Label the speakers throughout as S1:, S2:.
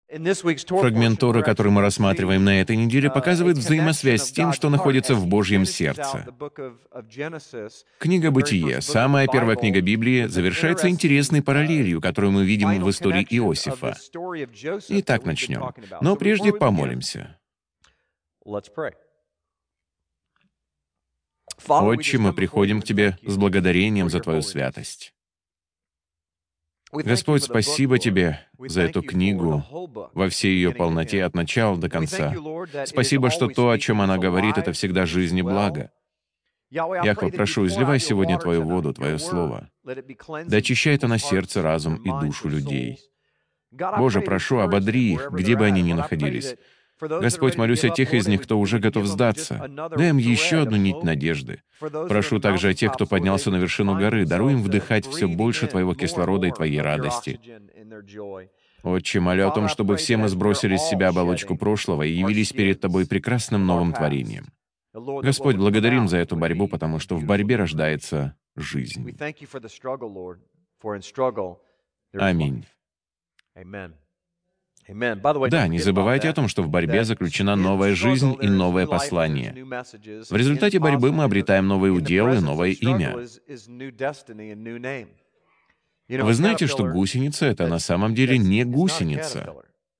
S1: Фрагмент Торы, который мы рассматриваем на этой неделе, показывает взаимосвязь с тем, что находится в Божьем сердце. Книга «Бытие», самая первая книга Библии, завершается интересной параллелью, которую мы видим в истории Иосифа. Итак, начнем. Но прежде помолимся. Отче, мы приходим к Тебе с благодарением за Твою святость. Господь, спасибо Тебе за эту книгу во всей ее полноте от начала до конца. Спасибо, что то, о чем она говорит, это всегда жизнь и благо. Яхве, прошу, изливай сегодня Твою воду, Твое Слово. Да очищает она сердце, разум и душу людей. Боже, прошу, ободри их, где бы они ни находились. Господь, молюсь о тех из них, кто уже готов сдаться. Дай им еще одну нить надежды. Прошу также о тех, кто поднялся на вершину горы. Даруй им вдыхать все больше Твоего кислорода и Твоей радости. Отче, молю о том, чтобы все мы сбросили с себя оболочку прошлого и явились перед Тобой прекрасным новым творением. Господь, благодарим за эту борьбу, потому что в борьбе рождается жизнь. Аминь. Да, не забывайте о том, что в борьбе заключена новая жизнь и новое послание. В результате борьбы мы обретаем новый удел и новое имя. Вы знаете, что гусеница — это на самом деле не гусеница.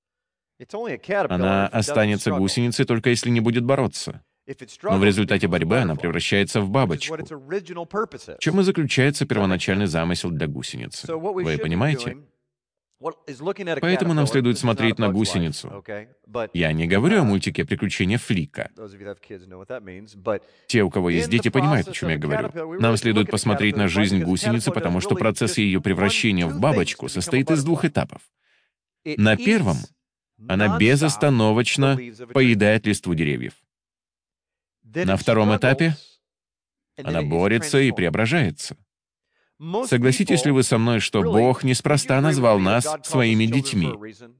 S1: Она останется гусеницей, только если не будет бороться. Но в результате борьбы она превращается в бабочку. В чем и заключается первоначальный замысел для гусеницы. Вы понимаете? Поэтому нам следует смотреть на гусеницу. Я не говорю о мультике «Приключения Флика». Те, у кого есть дети, понимают, о чем я говорю. Нам следует посмотреть на жизнь гусеницы, потому что процесс ее превращения в бабочку состоит из двух этапов. На первом она безостановочно поедает листву деревьев. На втором этапе она борется и преображается. Согласитесь ли вы со мной, что Бог неспроста назвал нас своими детьми?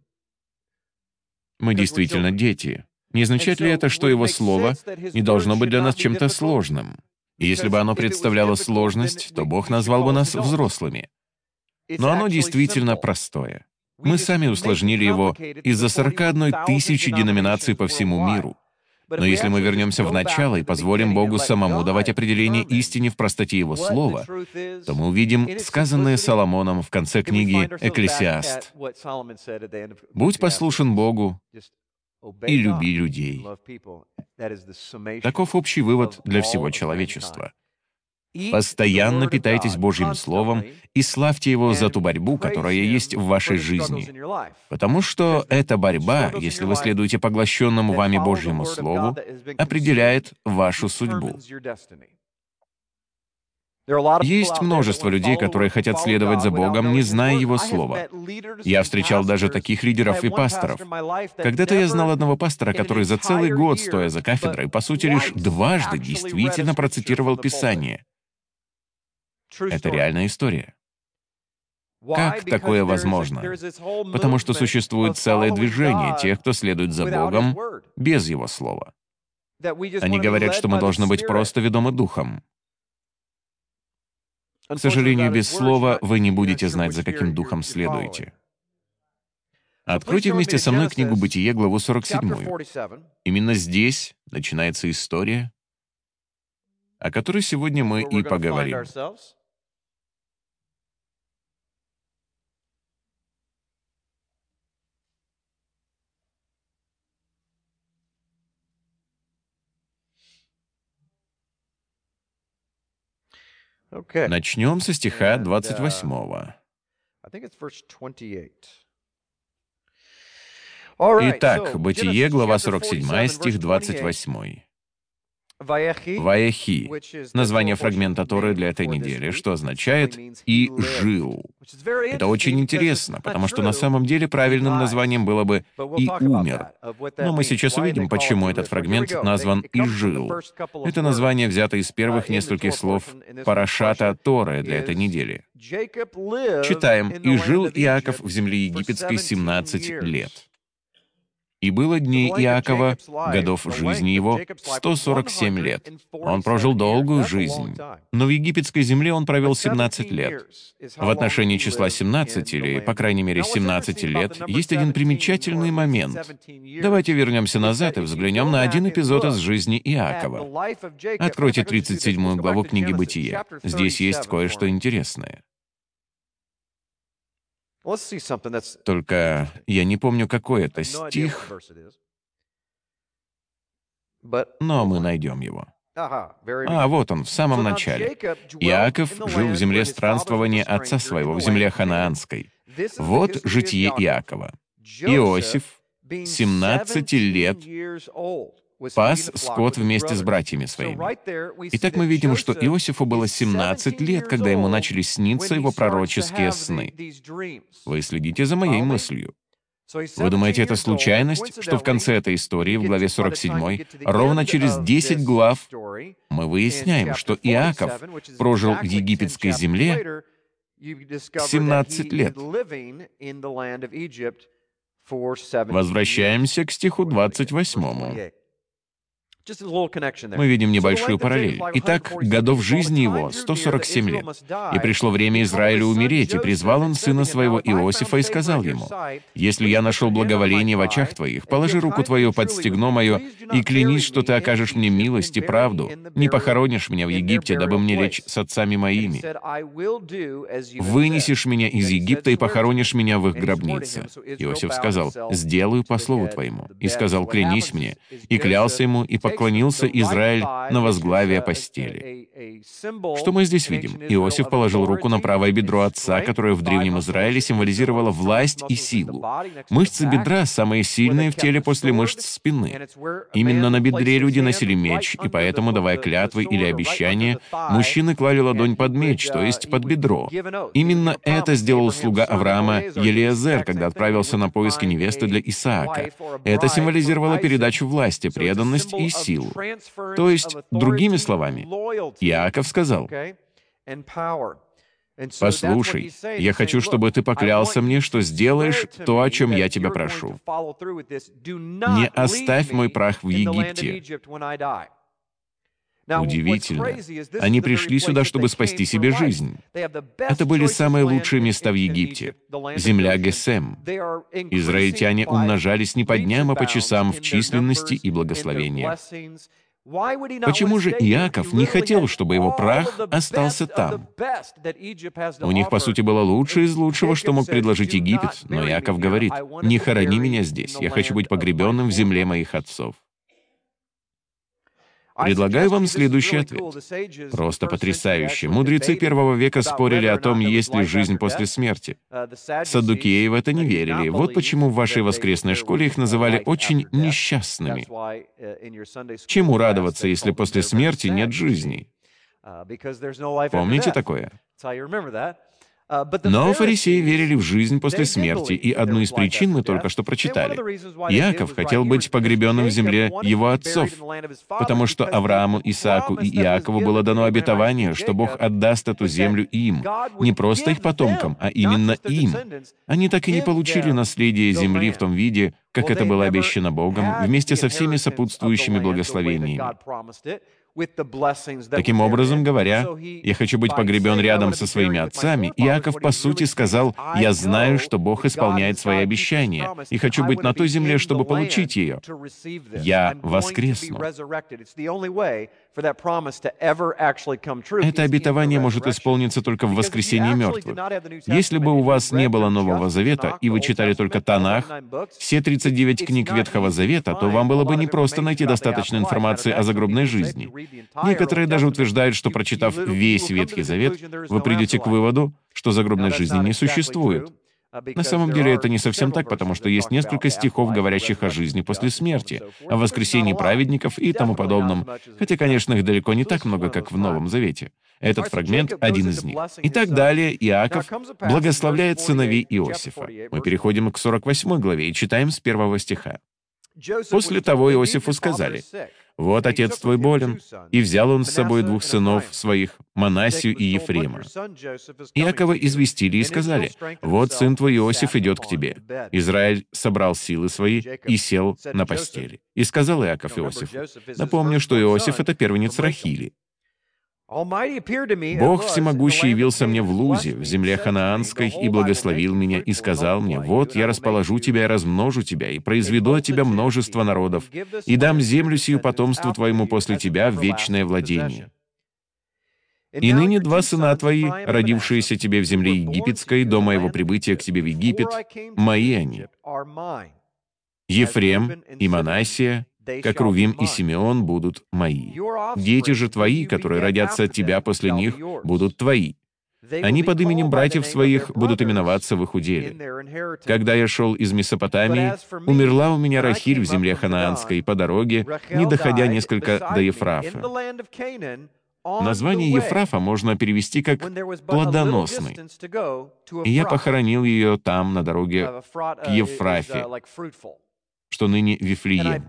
S1: Мы действительно дети. Не означает ли это, что Его Слово не должно быть для нас чем-то сложным? И если бы оно представляло сложность, то Бог назвал бы нас взрослыми. Но оно действительно простое. Мы сами усложнили его из-за 41 тысячи деноминаций по всему миру. Но если мы вернемся в начало и позволим Богу самому давать определение истине в простоте Его Слова, то мы увидим сказанное Соломоном в конце книги «Экклесиаст». «Будь послушен Богу и люби людей». Таков общий вывод для всего человечества. Постоянно питайтесь Божьим Словом и славьте Его за ту борьбу, которая есть в вашей жизни. Потому что эта борьба, если вы следуете поглощенному вами Божьему Слову, определяет вашу судьбу. Есть множество людей, которые хотят следовать за Богом, не зная Его Слова. Я встречал даже таких лидеров и пасторов. Когда-то я знал одного пастора, который за целый год, стоя за кафедрой, по сути, лишь дважды действительно процитировал Писание. Это реальная история. Как такое возможно? Потому что существует целое движение тех, кто следует за Богом без Его Слова. Они говорят, что мы должны быть просто ведомы Духом. К сожалению, без Слова вы не будете знать, за каким Духом следуете. Откройте вместе со мной книгу «Бытие», главу 47. Именно здесь начинается история, о которой сегодня мы и поговорим. Начнем со стиха 28. Итак, Бытие, глава 47, стих 28. «Ваехи» — название фрагмента Торы для этой недели, что означает «и жил». Это очень интересно, потому что на самом деле правильным названием было бы «и умер». Но мы сейчас увидим, почему этот фрагмент назван «и жил». Это название взято из первых нескольких слов парашата Торы для этой недели. Читаем: «И жил Иаков в земле египетской 17 лет». И было дней Иакова, годов жизни его, 147 лет. Он прожил долгую жизнь. Но в египетской земле он провел 17 лет. В отношении числа 17, или, по крайней мере, 17 лет, есть один примечательный момент. Давайте вернемся назад и взглянем на один эпизод из жизни Иакова. Откройте 37 главу книги «Бытие». Здесь есть кое-что интересное. Только я не помню, какой это стих, но мы найдем его. Вот он, в самом начале. «Иаков жил в земле странствования отца своего, в земле ханаанской». Вот житие Иакова. Иосиф, 17 лет, пас скот вместе с братьями своими. Итак, мы видим, что Иосифу было 17 лет, когда ему начали сниться его пророческие сны. Вы следите за моей мыслью. Вы думаете, это случайность, что в конце этой истории, в главе 47, ровно через 10 глав, мы выясняем, что Иаков прожил в египетской земле 17 лет? Возвращаемся к стиху 28. Мы видим небольшую параллель. Итак, годов жизни его 147 лет. «И пришло время Израилю умереть, и призвал он сына своего Иосифа и сказал ему: если я нашел благоволение в очах твоих, положи руку твою под стегно мое и клянись, что ты окажешь мне милость и правду, не похоронишь меня в Египте, дабы мне лечь с отцами моими. Вынесешь меня из Египта и похоронишь меня в их гробнице». Иосиф сказал: «Сделаю по слову твоему». И сказал: «Клянись мне». И клялся ему, и поклонился Израиль на возглавие постели. Что мы здесь видим? Иосиф положил руку на правое бедро отца, которое в Древнем Израиле символизировало власть и силу. Мышцы бедра самые сильные в теле после мышц спины. Именно на бедре люди носили меч, и поэтому, давая клятвы или обещания, мужчины клали ладонь под меч, то есть под бедро. Именно это сделал слуга Авраама Елиезер, когда отправился на поиски невесты для Исаака. Это символизировало передачу власти, преданность и силу. То есть, другими словами, Иаков сказал: «Послушай, я хочу, чтобы ты поклялся мне, что сделаешь то, о чем я тебя прошу. Не оставь мой прах в Египте». Удивительно. Они пришли сюда, чтобы спасти себе жизнь. Это были самые лучшие места в Египте. Земля Гесем. Израильтяне умножались не по дням, а по часам в численности и благословении. Почему же Иаков не хотел, чтобы его прах остался там? У них, по сути, было лучшее из лучшего, что мог предложить Египет, но Иаков говорит: «Не хорони меня здесь, я хочу быть погребенным в земле моих отцов». Предлагаю вам следующий ответ. Просто потрясающе. Мудрецы первого века спорили о том, есть ли жизнь после смерти. Саддукеи в это не верили. Вот почему в вашей воскресной школе их называли очень несчастными. Чему радоваться, если после смерти нет жизни? Помните такое? Но фарисеи верили в жизнь после смерти, и одну из причин мы только что прочитали. Иаков хотел быть погребенным в земле его отцов, потому что Аврааму, Исааку и Иакову было дано обетование, что Бог отдаст эту землю им, не просто их потомкам, а именно им. Они так и не получили наследие земли в том виде, как это было обещано Богом, вместе со всеми сопутствующими благословениями. Таким образом говоря, я хочу быть погребен рядом со своими отцами. Иаков, по сути, сказал: «Я знаю, что Бог исполняет свои обещания, и хочу быть на той земле, чтобы получить ее. Я воскресну». Это обетование может исполниться только в воскресении мертвых. Если бы у вас не было Нового Завета, и вы читали только Танах, все 39 книг Ветхого Завета, то вам было бы непросто найти достаточно информации о загробной жизни. Некоторые даже утверждают, что, прочитав весь Ветхий Завет, вы придете к выводу, что загробной жизни не существует. На самом деле это не совсем так, потому что есть несколько стихов, говорящих о жизни после смерти, о воскресении праведников и тому подобном, хотя, конечно, их далеко не так много, как в Новом Завете. Этот фрагмент — один из них. И так далее Иаков благословляет сыновей Иосифа. Мы переходим к 48 главе и читаем с 1 стиха. «После того Иосифу сказали: Вот отец твой болен, и взял он с собой двух сынов своих, Манассию и Ефрема. Иакова известили и сказали: вот сын твой Иосиф идет к тебе. Израиль собрал силы свои и сел на постели. И сказал Иаков Иосифу: напомню, что Иосиф — это первенец Рахили. Бог всемогущий явился мне в Лузе, в земле ханаанской, и благословил меня, и сказал мне: вот я расположу тебя и размножу тебя, и произведу от тебя множество народов, и дам землю сию потомству твоему после тебя в вечное владение. И ныне два сына твои, родившиеся тебе в земле египетской, до моего прибытия к тебе в Египет, мои они. Ефрем и Манассия, как Рувим и Симеон, будут мои. Дети же твои, которые родятся от тебя после них, будут твои. Они под именем братьев своих будут именоваться в их уделе. Когда я шел из Месопотамии, умерла у меня Рахиль в земле ханаанской по дороге, не доходя несколько до Ефрафа. Название Ефрафа можно перевести как «плодоносный». И я похоронил ее там, на дороге к Ефрафе, что ныне Вифлеем.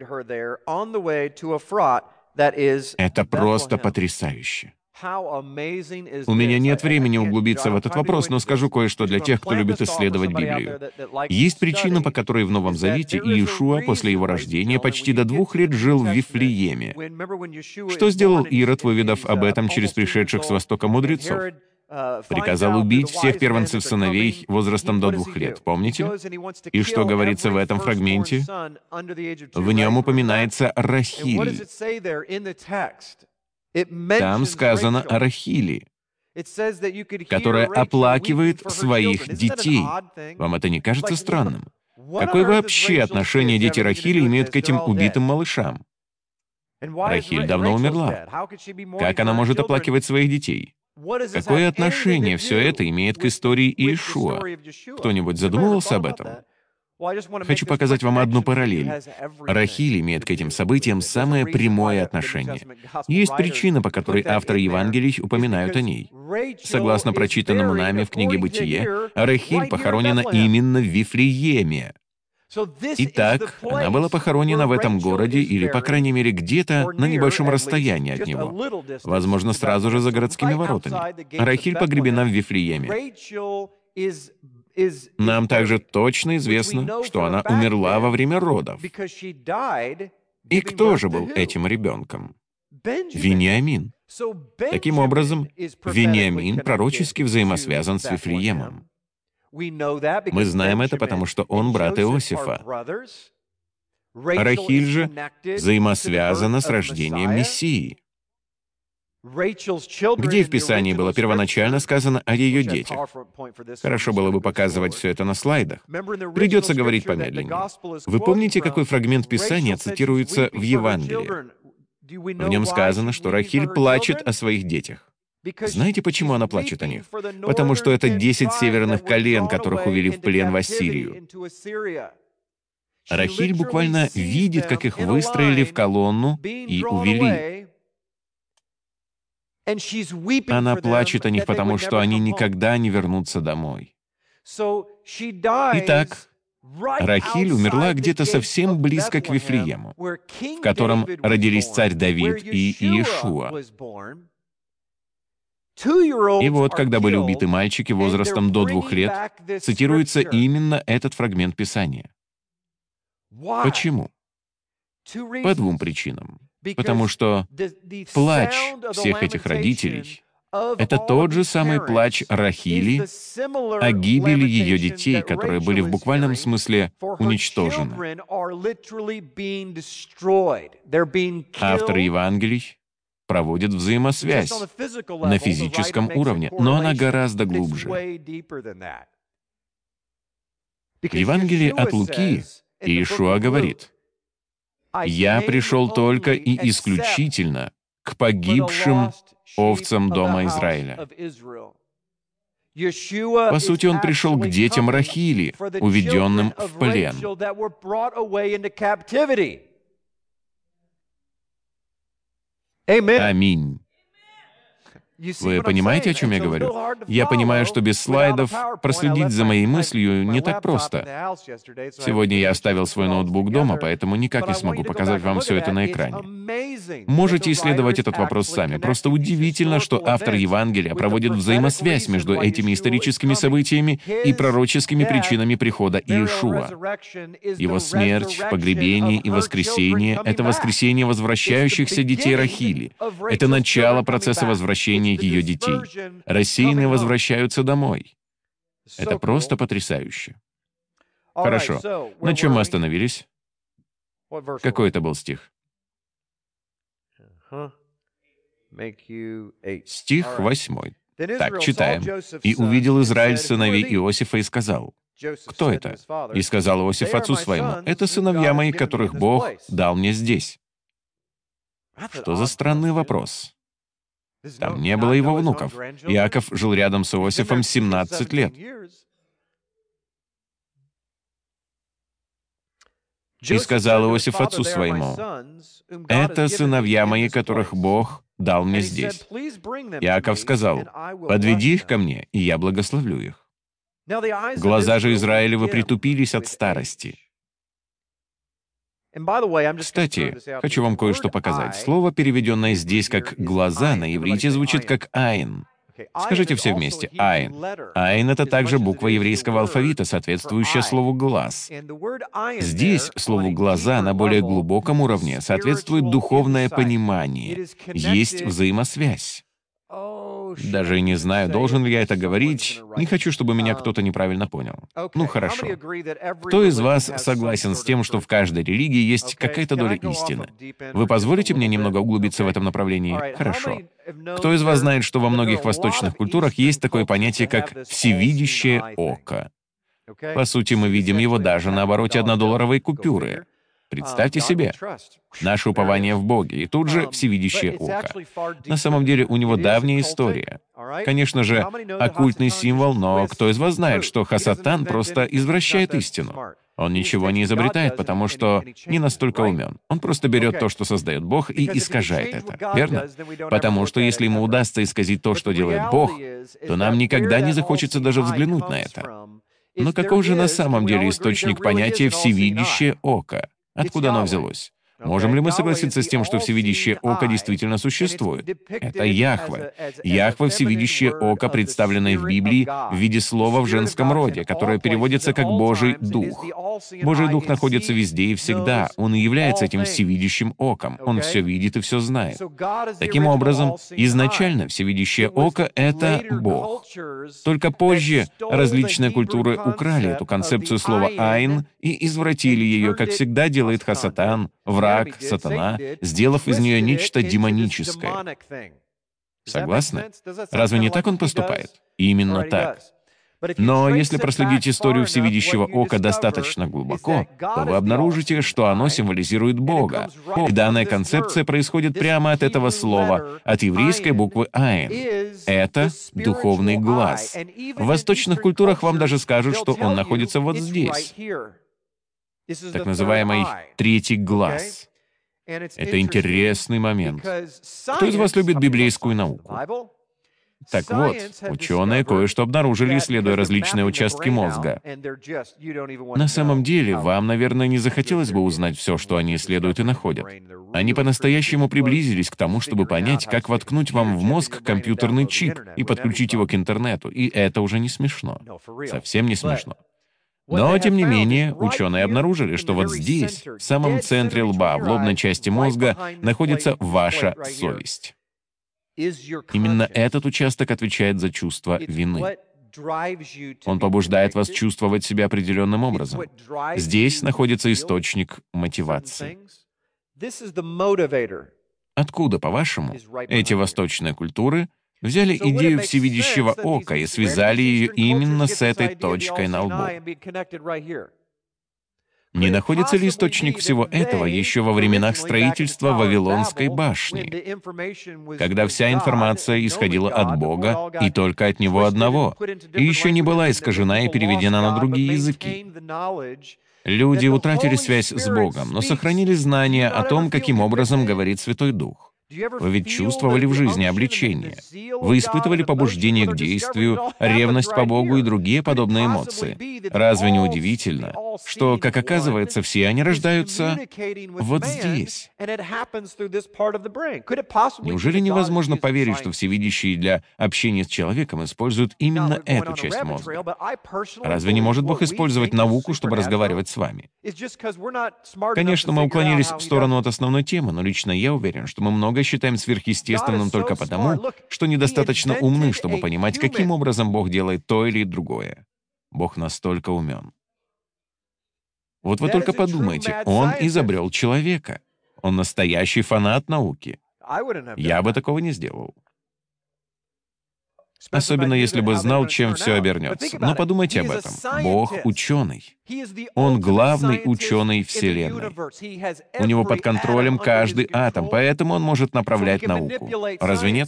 S1: Это просто потрясающе. У меня нет времени углубиться в этот вопрос, но скажу кое-что для тех, кто любит исследовать Библию. Есть причина, по которой в Новом Завете Иешуа после его рождения почти до 2 лет жил в Вифлееме. Что сделал Ирод, выведав об этом через пришедших с востока мудрецов? Приказал убить всех первенцев сыновей возрастом до 2 лет, помните? И что говорится в этом фрагменте? В нем упоминается Рахиль. Там сказано о Рахили, которая оплакивает своих детей. Вам это не кажется странным? Какое вообще отношение дети Рахили имеют к этим убитым малышам? Рахиль давно умерла. Как она может оплакивать своих детей? Какое отношение все это имеет к истории Иешуа? Кто-нибудь задумывался об этом? Хочу показать вам одну параллель. Рахиль имеет к этим событиям самое прямое отношение. Есть причина, по которой авторы Евангелий упоминают о ней. Согласно прочитанному нами в книге «Бытие», Рахиль похоронена именно в Вифлееме. Итак, она была похоронена в этом городе, или, по крайней мере, где-то на небольшом расстоянии от него. Возможно, сразу же за городскими воротами. Рахиль погребена в Вифлееме. Нам также точно известно, что она умерла во время родов. И кто же был этим ребенком? Вениамин. Таким образом, Вениамин пророчески взаимосвязан с Вифлеемом. Мы знаем это, потому что он брат Иосифа. Рахиль же взаимосвязана с рождением Мессии. Где в Писании было первоначально сказано о ее детях? Хорошо было бы показывать все это на слайдах. Придется говорить помедленнее. Вы помните, какой фрагмент Писания цитируется в Евангелии? В нем сказано, что Рахиль плачет о своих детях. Знаете, почему она плачет о них? Потому что это 10 северных колен, которых увели в плен в Ассирию. Рахиль буквально видит, как их выстроили в колонну и увели. Она плачет о них, потому что они никогда не вернутся домой. Итак, Рахиль умерла где-то совсем близко к Вифлеему, в котором родились царь Давид и Иешуа. И вот, когда были убиты мальчики возрастом до 2 лет, цитируется именно этот фрагмент Писания. Почему? По 2 причинам. Потому что плач всех этих родителей — это тот же самый плач Рахили о гибели ее детей, которые были в буквальном смысле уничтожены. Авторы Евангелий проводят взаимосвязь на физическом уровне, но она гораздо глубже. В Евангелии от Луки Иешуа говорит: «Я пришел только и исключительно к погибшим овцам дома Израиля». По сути, он пришел к детям Рахили, уведенным в плен. Аминь. Вы понимаете, о чем я говорю? Я понимаю, что без слайдов проследить за моей мыслью не так просто. Сегодня я оставил свой ноутбук дома, поэтому никак не смогу показать вам все это на экране. Можете исследовать этот вопрос сами. Просто удивительно, что автор Евангелия проводит взаимосвязь между этими историческими событиями и пророческими причинами прихода Иешуа. Его смерть, погребение и воскресение — это воскресение возвращающихся детей Рахили. Это начало процесса возвращения ее детей. Рассеянные возвращаются домой. Это просто потрясающе. Хорошо. На чем мы остановились? Какой это был стих? Стих 8. Так, читаем. «И увидел Израиль сыновей Иосифа и сказал». Кто это? «И сказал Иосиф отцу своему, это сыновья мои, которых Бог дал мне здесь». Что за странный вопрос? Там не было его внуков. Иаков жил рядом с Иосифом 17 лет. «И сказал Иосиф отцу своему, это сыновья мои, которых Бог дал мне здесь». Иаков сказал, «Подведи их ко мне, и я благословлю их». Глаза же Израилевы притупились от старости. Кстати, хочу вам кое-что показать. Слово, переведенное здесь как «глаза», на иврите звучит как «айн». Скажите все вместе «айн». «Айн» — это также буква еврейского алфавита, соответствующая слову «глаз». Здесь слову «глаза» на более глубоком уровне соответствует духовное понимание. Есть взаимосвязь. Даже не знаю, должен ли я это говорить. Не хочу, чтобы меня кто-то неправильно понял. Ну, хорошо. Кто из вас согласен с тем, что в каждой религии есть какая-то доля истины? Вы позволите мне немного углубиться в этом направлении? Хорошо. Кто из вас знает, что во многих восточных культурах есть такое понятие, как «всевидящее око»? По сути, мы видим его даже на обороте $1 купюры. Представьте себе. Наше упование в Боге, и тут же всевидящее око. На самом деле у него давняя история. Конечно же, оккультный символ, но кто из вас знает, что Хасатан просто извращает истину? Он ничего не изобретает, потому что не настолько умен. Он просто берет то, что создает Бог, и искажает это, верно? Потому что если ему удастся исказить то, что делает Бог, то нам никогда не захочется даже взглянуть на это. Но каков же на самом деле источник понятия «всевидящее око»? Откуда оно взялось? Можем ли мы согласиться с тем, что всевидящее око действительно существует? Это Яхве. Яхве — всевидящее око, представленное в Библии в виде слова в женском роде, которое переводится как «Божий Дух». Божий Дух находится везде и всегда. Он и является этим всевидящим оком. Он все видит и все знает. Таким образом, изначально всевидящее око — это Бог. Только позже различные культуры украли эту концепцию слова «айн» и извратили ее, как всегда делает Хасатан, враг, сатана, сделав из нее нечто демоническое. Согласны? Разве не так он поступает? Именно так. Но если проследить историю всевидящего ока достаточно глубоко, то вы обнаружите, что оно символизирует Бога. И данная концепция происходит прямо от этого слова, от еврейской буквы «айн». Это духовный глаз. В восточных культурах вам даже скажут, что он находится вот здесь. Так называемый третий глаз. Это интересный момент. Кто из вас любит библейскую науку? Так вот, ученые кое-что обнаружили, исследуя различные участки мозга. На самом деле, вам, наверное, не захотелось бы узнать все, что они исследуют и находят. Они по-настоящему приблизились к тому, чтобы понять, как воткнуть вам в мозг компьютерный чип и подключить его к интернету, и это уже не смешно. Совсем не смешно. Но, тем не менее, ученые обнаружили, что вот здесь, в самом центре лба, в лобной части мозга, находится ваша совесть. Именно этот участок отвечает за чувство вины. Он побуждает вас чувствовать себя определенным образом. Здесь находится источник мотивации. Откуда, по-вашему, эти восточные культуры взяли идею всевидящего ока и связали ее именно с этой точкой на лбу? Не находится ли источник всего этого еще во временах строительства Вавилонской башни, когда вся информация исходила от Бога и только от Него одного, и еще не была искажена и переведена на другие языки? Люди утратили связь с Богом, но сохранили знания о том, каким образом говорит Святой Дух. Вы ведь чувствовали в жизни обличение. Вы испытывали побуждение к действию, ревность по Богу и другие подобные эмоции. Разве не удивительно, что, как оказывается, все они рождаются вот здесь? Неужели невозможно поверить, что всевидящие для общения с человеком используют именно эту часть мозга? Разве не может Бог использовать науку, чтобы разговаривать с вами? Конечно, мы уклонились в сторону от основной темы, но лично я уверен, что мы многое считаем сверхъестественным только потому, что недостаточно умны, чтобы понимать, каким образом Бог делает то или другое. Бог настолько умен. Вот вы только подумайте, Он изобрел человека. Он настоящий фанат науки. Я бы такого не сделал. Особенно если бы знал, чем все обернется. Но подумайте об этом. Бог — ученый. Он главный ученый Вселенной. У него под контролем каждый атом, поэтому он может направлять науку. Разве нет?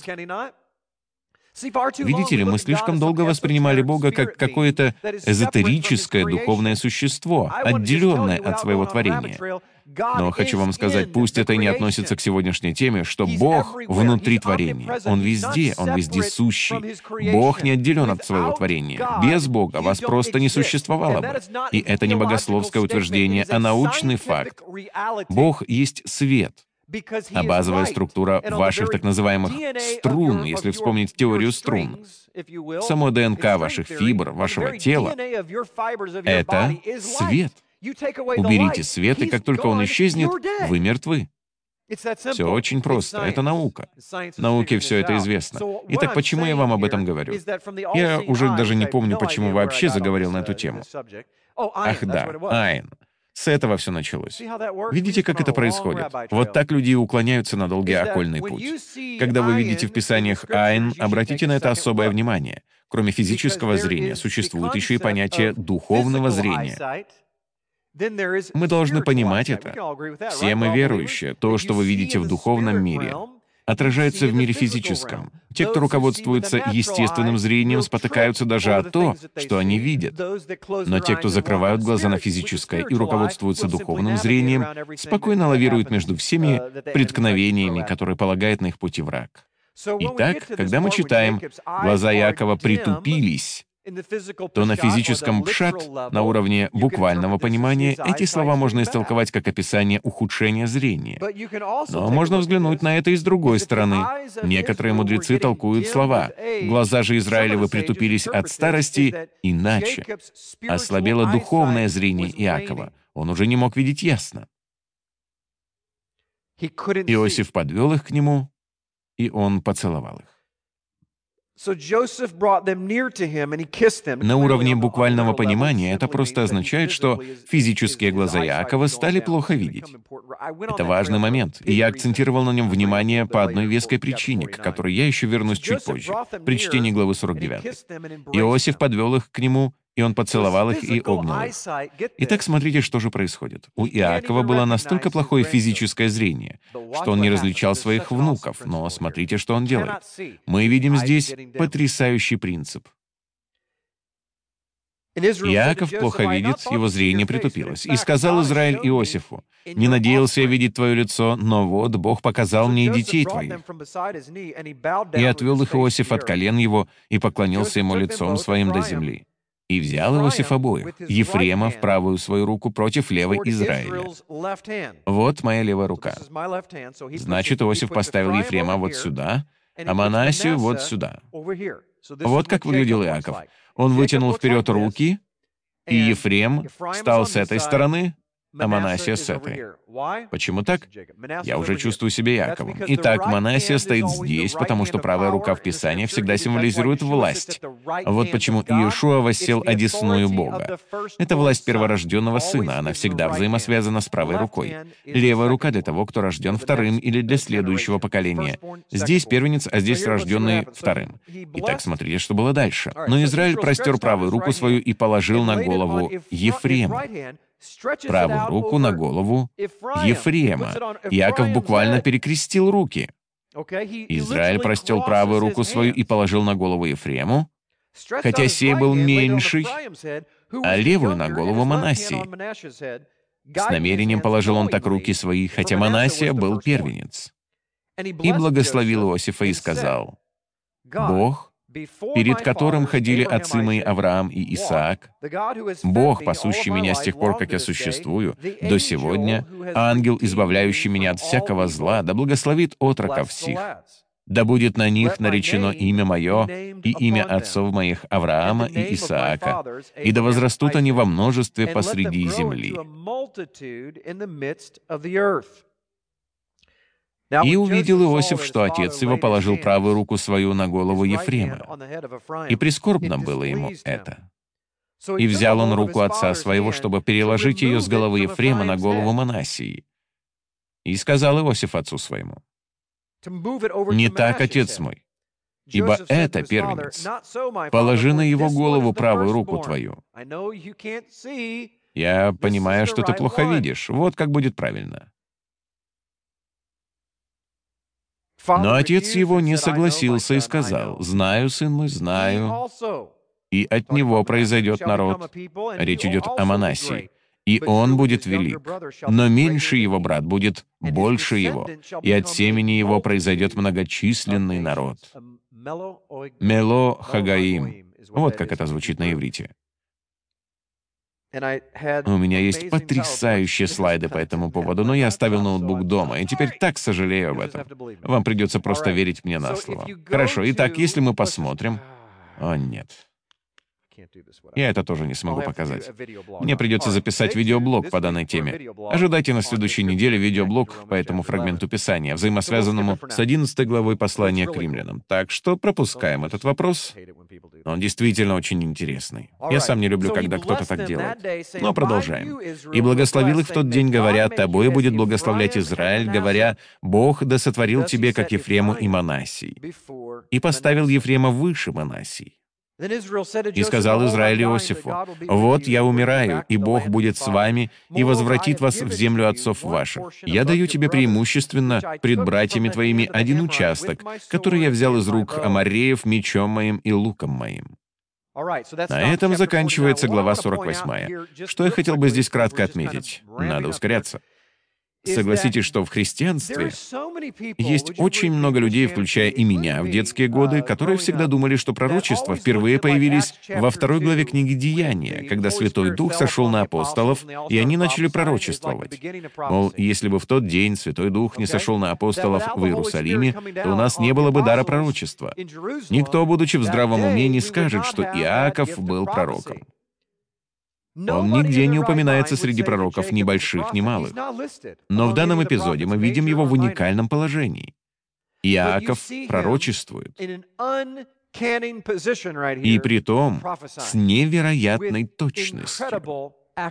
S1: Видите ли, мы слишком долго воспринимали Бога как какое-то эзотерическое духовное существо, отделенное от своего творения. Но хочу вам сказать, пусть это и не относится к сегодняшней теме, что Бог внутри творения. Он вездесущий. Бог не отделен от своего творения. Без Бога вас просто не существовало бы. И это не богословское утверждение, а научный факт. Бог есть свет. А базовая структура ваших так называемых струн, если вспомнить теорию струн, само ДНК ваших фибр, вашего тела — это свет. Уберите свет, и как только он исчезнет, вы мертвы. Все очень просто. Это наука. Науке все это известно. Итак, почему я вам об этом говорю? Я уже даже не помню, почему вообще заговорил на эту тему. Ах да, Айн. С этого все началось. Видите, как это происходит? Вот так люди и уклоняются на долгий окольный путь. Когда вы видите в Писаниях Айн, обратите на это особое внимание. Кроме физического зрения, существует еще и понятие духовного зрения. Мы должны понимать это. Все мы верующие. То, что вы видите в духовном мире, отражается в мире физическом. Те, кто руководствуется естественным зрением, спотыкаются даже о том, что они видят. Но те, кто закрывают глаза на физическое и руководствуются духовным зрением, спокойно лавируют между всеми преткновениями, которые полагает на их пути враг. Итак, когда мы читаем «глаза Иакова притупились», то на физическом пшат, на уровне буквального понимания, эти слова можно истолковать как описание ухудшения зрения. Но можно взглянуть на это и с другой стороны. Некоторые мудрецы толкуют слова «глаза же Израилевы притупились от старости» иначе. Ослабело духовное зрение Иакова. Он уже не мог видеть ясно. Иосиф подвел их к нему, и он поцеловал их. На уровне буквального понимания это просто означает, что физические глаза Иакова стали плохо видеть. Это важный момент, и я акцентировал на нем внимание по одной веской причине, к которой я еще вернусь чуть позже, при чтении главы 49. Иосиф подвел их к нему, и он поцеловал их и обнял их. Итак, смотрите, что же происходит. У Иакова было настолько плохое физическое зрение, что он не различал своих внуков, но смотрите, что он делает. Мы видим здесь потрясающий принцип. Иаков плохо видит, его зрение притупилось. «И сказал Израиль Иосифу: не надеялся я видеть твое лицо, но вот Бог показал мне и детей твоих». И отвел их Иосиф от колен его и поклонился ему лицом своим до земли. И взял Иосиф обоих, Ефрема в правую свою руку против левой Израиля. Вот моя левая рука. Значит, Иосиф поставил Ефрема вот сюда, а Манассию вот сюда. Вот как выглядел Иаков. Он вытянул вперед руки, и Ефрем стал с этой стороны, а Манассия с этой. Почему так? Я уже чувствую себя Иаковом. Итак, Манассия стоит здесь, потому что правая рука в Писании всегда символизирует власть. Вот почему Иешуа воссел одесную Бога. Это власть перворожденного сына, она всегда взаимосвязана с правой рукой. Левая рука для того, кто рожден вторым или для следующего поколения. Здесь первенец, а здесь рожденный вторым. Итак, смотрите, что было дальше. Но Израиль простер правую руку свою и положил на голову Ефрема. Правую руку на голову Ефрема. Иаков буквально перекрестил руки. Израиль простел правую руку свою и положил на голову Ефрему, хотя сей был меньший, а левую на голову Манассии. С намерением положил он так руки свои, хотя Манассия был первенец. и благословил Иосифа и сказал: «Бог, перед которым ходили отцы мои Авраам и Исаак, Бог, пасущий меня с тех пор, как я существую, до сегодня, ангел, избавляющий меня от всякого зла, да благословит отроков сих. Да будет на них наречено имя мое и имя отцов моих Авраама и Исаака, и да возрастут они во множестве посреди земли». И увидел Иосиф, что отец его положил правую руку свою на голову Ефрема, и прискорбно было ему это. И взял он руку отца своего, чтобы переложить ее с головы Ефрема на голову Манассии. И сказал Иосиф отцу своему: «Не так, отец мой, ибо это первенец. Положи на его голову правую руку твою. Я понимаю, что ты плохо видишь. Вот как будет правильно». Но отец его не согласился и сказал: «Знаю, сын мой, знаю, и от него произойдет народ». Речь идет о Манассии. «И он будет велик, но меньший его брат будет больше его, и от семени его произойдет многочисленный народ». Мело Хагаим. Вот как это звучит на иврите. У меня есть потрясающие слайды по этому поводу, но я оставил ноутбук дома, и теперь так сожалею об этом. Вам придется просто верить мне на слово. Хорошо, итак, если мы посмотрим... О, нет. Я это тоже не смогу показать. Мне придется записать видеоблог по данной теме. Ожидайте на следующей неделе видеоблог по этому фрагменту Писания, взаимосвязанному с 11 главой послания к римлянам. Так что пропускаем этот вопрос. Он действительно очень интересный. Я сам не люблю, когда кто-то так делает. Но продолжаем. «И благословил их в тот день, говоря: тобой будет благословлять Израиль, говоря: Бог да сотворил тебе, как Ефрему и Манассии. И поставил Ефрема выше Манассии. И сказал Израиль Иосифу: вот я умираю, и Бог будет с вами и возвратит вас в землю отцов ваших. Я даю тебе преимущественно пред братьями твоими один участок, который я взял из рук амореев мечом моим и луком моим». На этом заканчивается глава 48. Что я хотел бы здесь кратко отметить? Надо ускоряться. Согласитесь, что в христианстве есть очень много людей, включая и меня в детские годы, которые всегда думали, что пророчества впервые появились во 2 главе книги «Деяния», когда Святой Дух сошел на апостолов, и они начали пророчествовать. Мол, если бы в тот день Святой Дух не сошел на апостолов в Иерусалиме, то у нас не было бы дара пророчества. Никто, будучи в здравом уме, не скажет, что Иаков был пророком. Он нигде не упоминается среди пророков ни больших, ни малых. Но в данном эпизоде мы видим его в уникальном положении. Иаков пророчествует. И притом с невероятной точностью.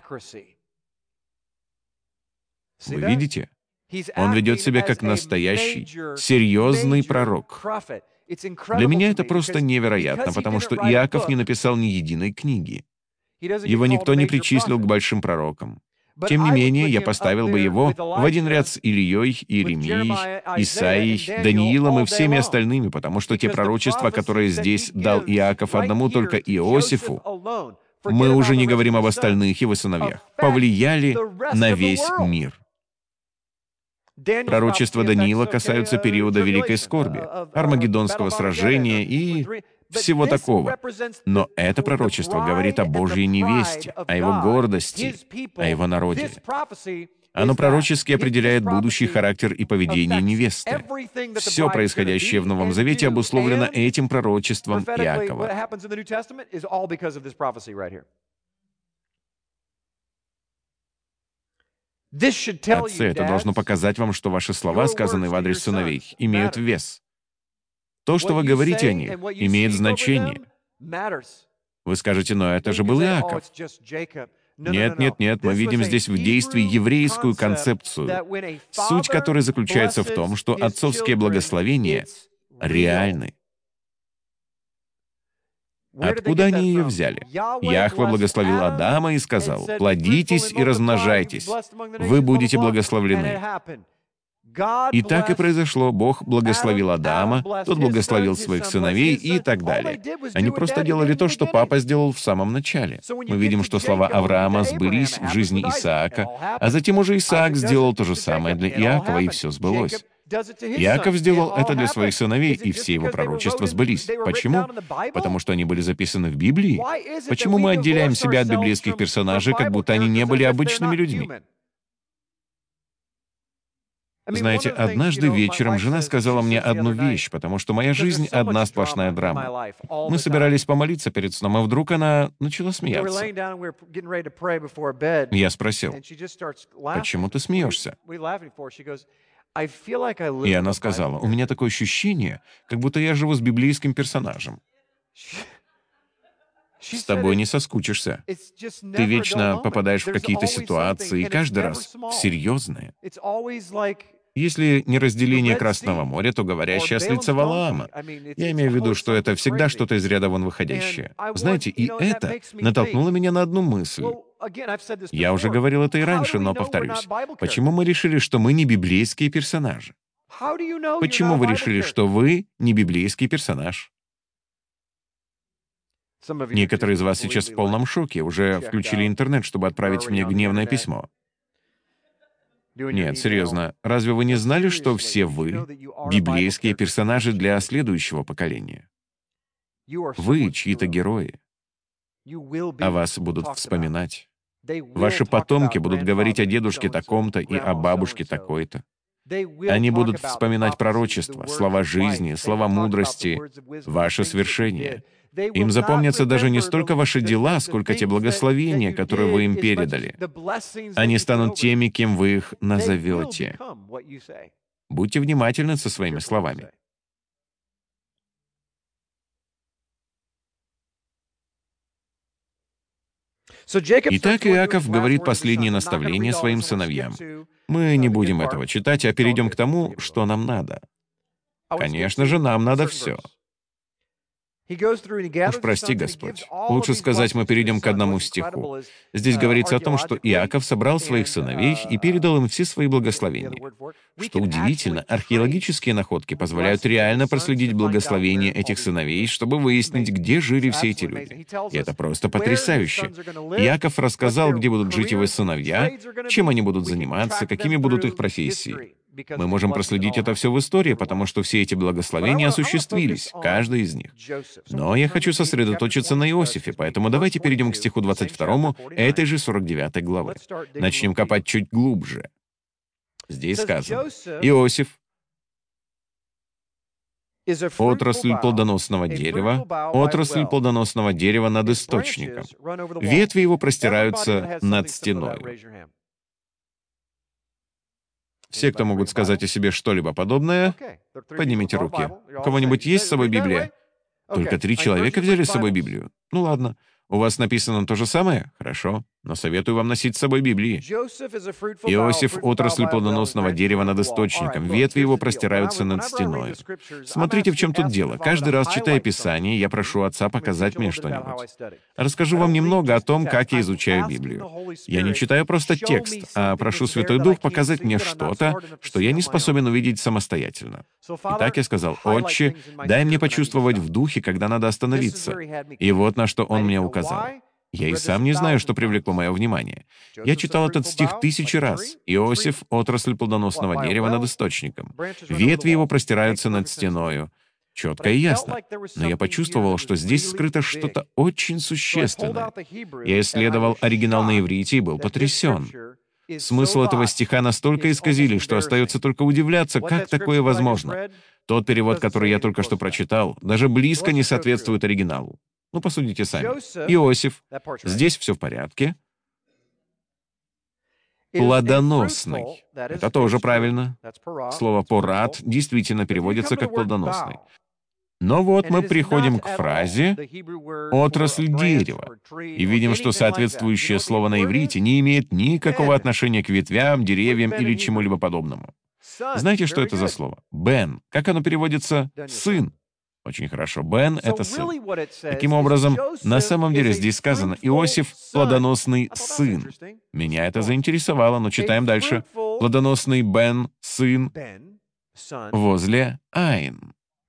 S1: Вы видите? Он ведет себя как настоящий, серьезный пророк. Для меня это просто невероятно, потому что Иаков не написал ни единой книги. Его никто не причислил к большим пророкам. Тем не менее, я поставил бы его в один ряд с Ильей, Иеремией, Исаией, Даниилом и всеми остальными, потому что те пророчества, которые здесь дал Иаков одному только Иосифу, мы уже не говорим об остальных его сыновьях, повлияли на весь мир. Пророчества Даниила касаются периода Великой Скорби, Армагеддонского сражения и всего такого. Но это пророчество говорит о Божьей невесте, о его гордости, о его народе. Оно пророчески определяет будущий характер и поведение невесты. Все происходящее в Новом Завете обусловлено этим пророчеством Иакова. Отцы, это должно показать вам, что ваши слова, сказанные в адрес сыновей, имеют вес. То, что вы говорите о них, имеет значение. Вы скажете: но это же был Иаков. Нет, нет, нет, мы видим здесь в действии еврейскую концепцию, суть которой заключается в том, что отцовские благословения реальны. Откуда они ее взяли? Яхве благословил Адама и сказал: «Плодитесь и размножайтесь, вы будете благословлены». И так и произошло. Бог благословил Адама, тот благословил своих сыновей и так далее. Они просто делали то, что папа сделал в самом начале. Мы видим, что слова Авраама сбылись в жизни Исаака, а затем уже Исаак сделал то же самое для Иакова, и все сбылось. Иаков сделал это для своих сыновей, и все его пророчества сбылись. Почему? Потому что они были записаны в Библии. Почему мы отделяем себя от библейских персонажей, как будто они не были обычными людьми? Знаете, однажды вечером жена сказала мне одну вещь, потому что моя жизнь — одна сплошная драма. Мы собирались помолиться перед сном, и вдруг она начала смеяться. Я спросил, «Почему ты смеешься?» И она сказала, «У меня такое ощущение, как будто я живу с библейским персонажем. С тобой не соскучишься. Ты вечно попадаешь в какие-то ситуации, и каждый раз серьезные. Если не разделение Красного моря, то говорящая ослица Валаама. Я имею в виду, что это всегда что-то из ряда вон выходящее. Знаете, и это натолкнуло меня на одну мысль. Я уже говорил это и раньше, но повторюсь. Почему мы решили, что мы не библейские персонажи? Почему вы решили, что вы не библейский персонаж? Некоторые из вас сейчас в полном шоке, уже включили интернет, чтобы отправить мне гневное письмо. Нет, серьезно, разве вы не знали, что все вы — библейские персонажи для следующего поколения? Вы — чьи-то герои. О вас будут вспоминать. Ваши потомки будут говорить о дедушке таком-то и о бабушке такой-то. Они будут вспоминать пророчества, слова жизни, слова мудрости, ваши свершения. Им запомнятся даже не столько ваши дела, сколько те благословения, которые вы им передали. Они станут теми, кем вы их назовете. Будьте внимательны со своими словами. Итак, Иаков говорит последние наставления своим сыновьям. Мы не будем этого читать, а перейдем к тому, что нам надо. Конечно же, нам надо все. Уж прости, Господь. Лучше сказать, мы перейдем к одному стиху. Здесь говорится о том, что Иаков собрал своих сыновей и передал им все свои благословения. Что удивительно, археологические находки позволяют реально проследить благословения этих сыновей, чтобы выяснить, где жили все эти люди. И это просто потрясающе. Иаков рассказал, где будут жить его сыновья, чем они будут заниматься, какими будут их профессии. Мы можем проследить это все в истории, потому что все эти благословения осуществились, каждый из них. Но я хочу сосредоточиться на Иосифе, поэтому давайте перейдем к стиху 22 этой же 49 главы. Начнем копать чуть глубже. Здесь сказано: Иосиф — отрасль плодоносного дерева над источником. Ветви его простираются над стеной. Все, кто могут сказать о себе что-либо подобное, поднимите руки. У кого-нибудь есть с собой Библия? Только 3 человека взяли с собой Библию. Ну ладно. У вас написано то же самое? Хорошо. Но советую вам носить с собой Библии. Иосиф — отрасль плодоносного дерева над источником. Ветви его простираются над стеной. Смотрите, в чем тут дело. Каждый раз, читая Писание, я прошу Отца показать мне что-нибудь. Расскажу вам немного о том, как я изучаю Библию. Я не читаю просто текст, а прошу Святой Дух показать мне что-то, что я не способен увидеть самостоятельно. Итак, я сказал: «Отче, дай мне почувствовать в духе, когда надо остановиться». И вот на что он мне указал. Я и сам не знаю, что привлекло мое внимание. Я читал этот стих 1000 раз. Иосиф — отрасль плодоносного дерева над источником. Ветви его простираются над стеною. Четко и ясно. Но я почувствовал, что здесь скрыто что-то очень существенное. Я исследовал оригинал на иврите и был потрясен. Смысл этого стиха настолько исказили, что остается только удивляться, как такое возможно. Тот перевод, который я только что прочитал, даже близко не соответствует оригиналу. Ну, посудите сами. Иосиф. Здесь все в порядке. Плодоносный. Это тоже правильно. Слово «порат» действительно переводится как «плодоносный». Но вот мы приходим к фразе «отрасль дерева» и видим, что соответствующее слово на иврите не имеет никакого отношения к ветвям, деревьям или чему-либо подобному. Знаете, что это за слово? «Бен». Как оно переводится? «Сын». Очень хорошо. Бен — это сын. Таким образом, на самом деле здесь сказано: Иосиф — плодоносный сын. Меня это заинтересовало, но читаем дальше. Плодоносный Бен, сын, возле Аин.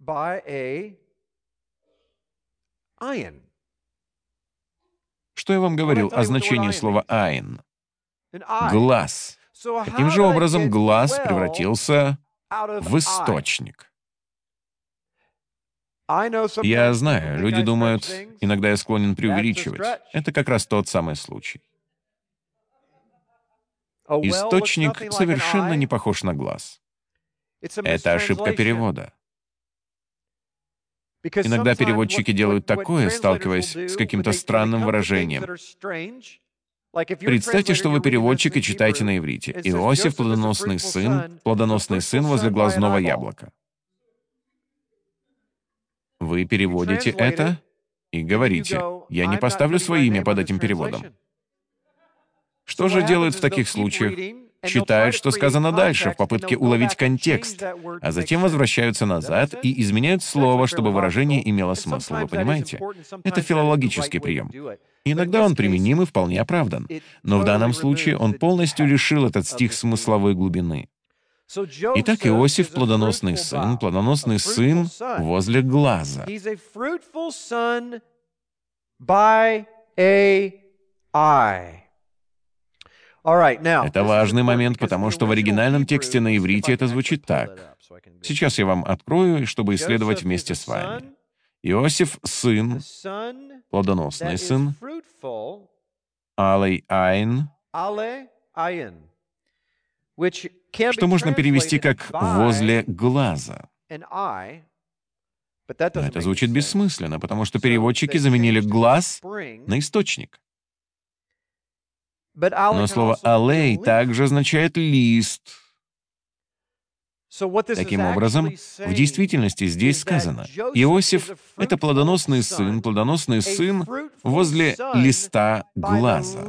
S1: Что я вам говорил о значении слова Аин? Глаз. Каким же образом глаз превратился в источник. Я знаю, люди думают, иногда я склонен преувеличивать. Это как раз тот самый случай. Источник совершенно не похож на глаз. Это ошибка перевода. Иногда переводчики делают такое, сталкиваясь с каким-то странным выражением. Представьте, что вы переводчик и читаете на иврите. Иосиф, плодоносный сын возле глазного яблока. Вы переводите это и говорите: «Я не поставлю свое имя под этим переводом». Что же делают в таких случаях? Читают, что сказано дальше, в попытке уловить контекст, а затем возвращаются назад и изменяют слово, чтобы выражение имело смысл. Вы понимаете? Это филологический прием. Иногда он применим и вполне оправдан. Но в данном случае он полностью лишил этот стих смысловой глубины. Итак, Иосиф — плодоносный сын возле глаза. Это важный момент, потому что в оригинальном тексте на иврите это звучит так. Сейчас я вам открою, чтобы исследовать вместе с вами. Иосиф — сын, плодоносный сын, алей айн, что можно перевести как «возле глаза». Но это звучит бессмысленно, потому что переводчики заменили «глаз» на «источник». Но слово «алей» также означает «лист». Таким образом, в действительности здесь сказано: Иосиф — это плодоносный сын возле листа глаза.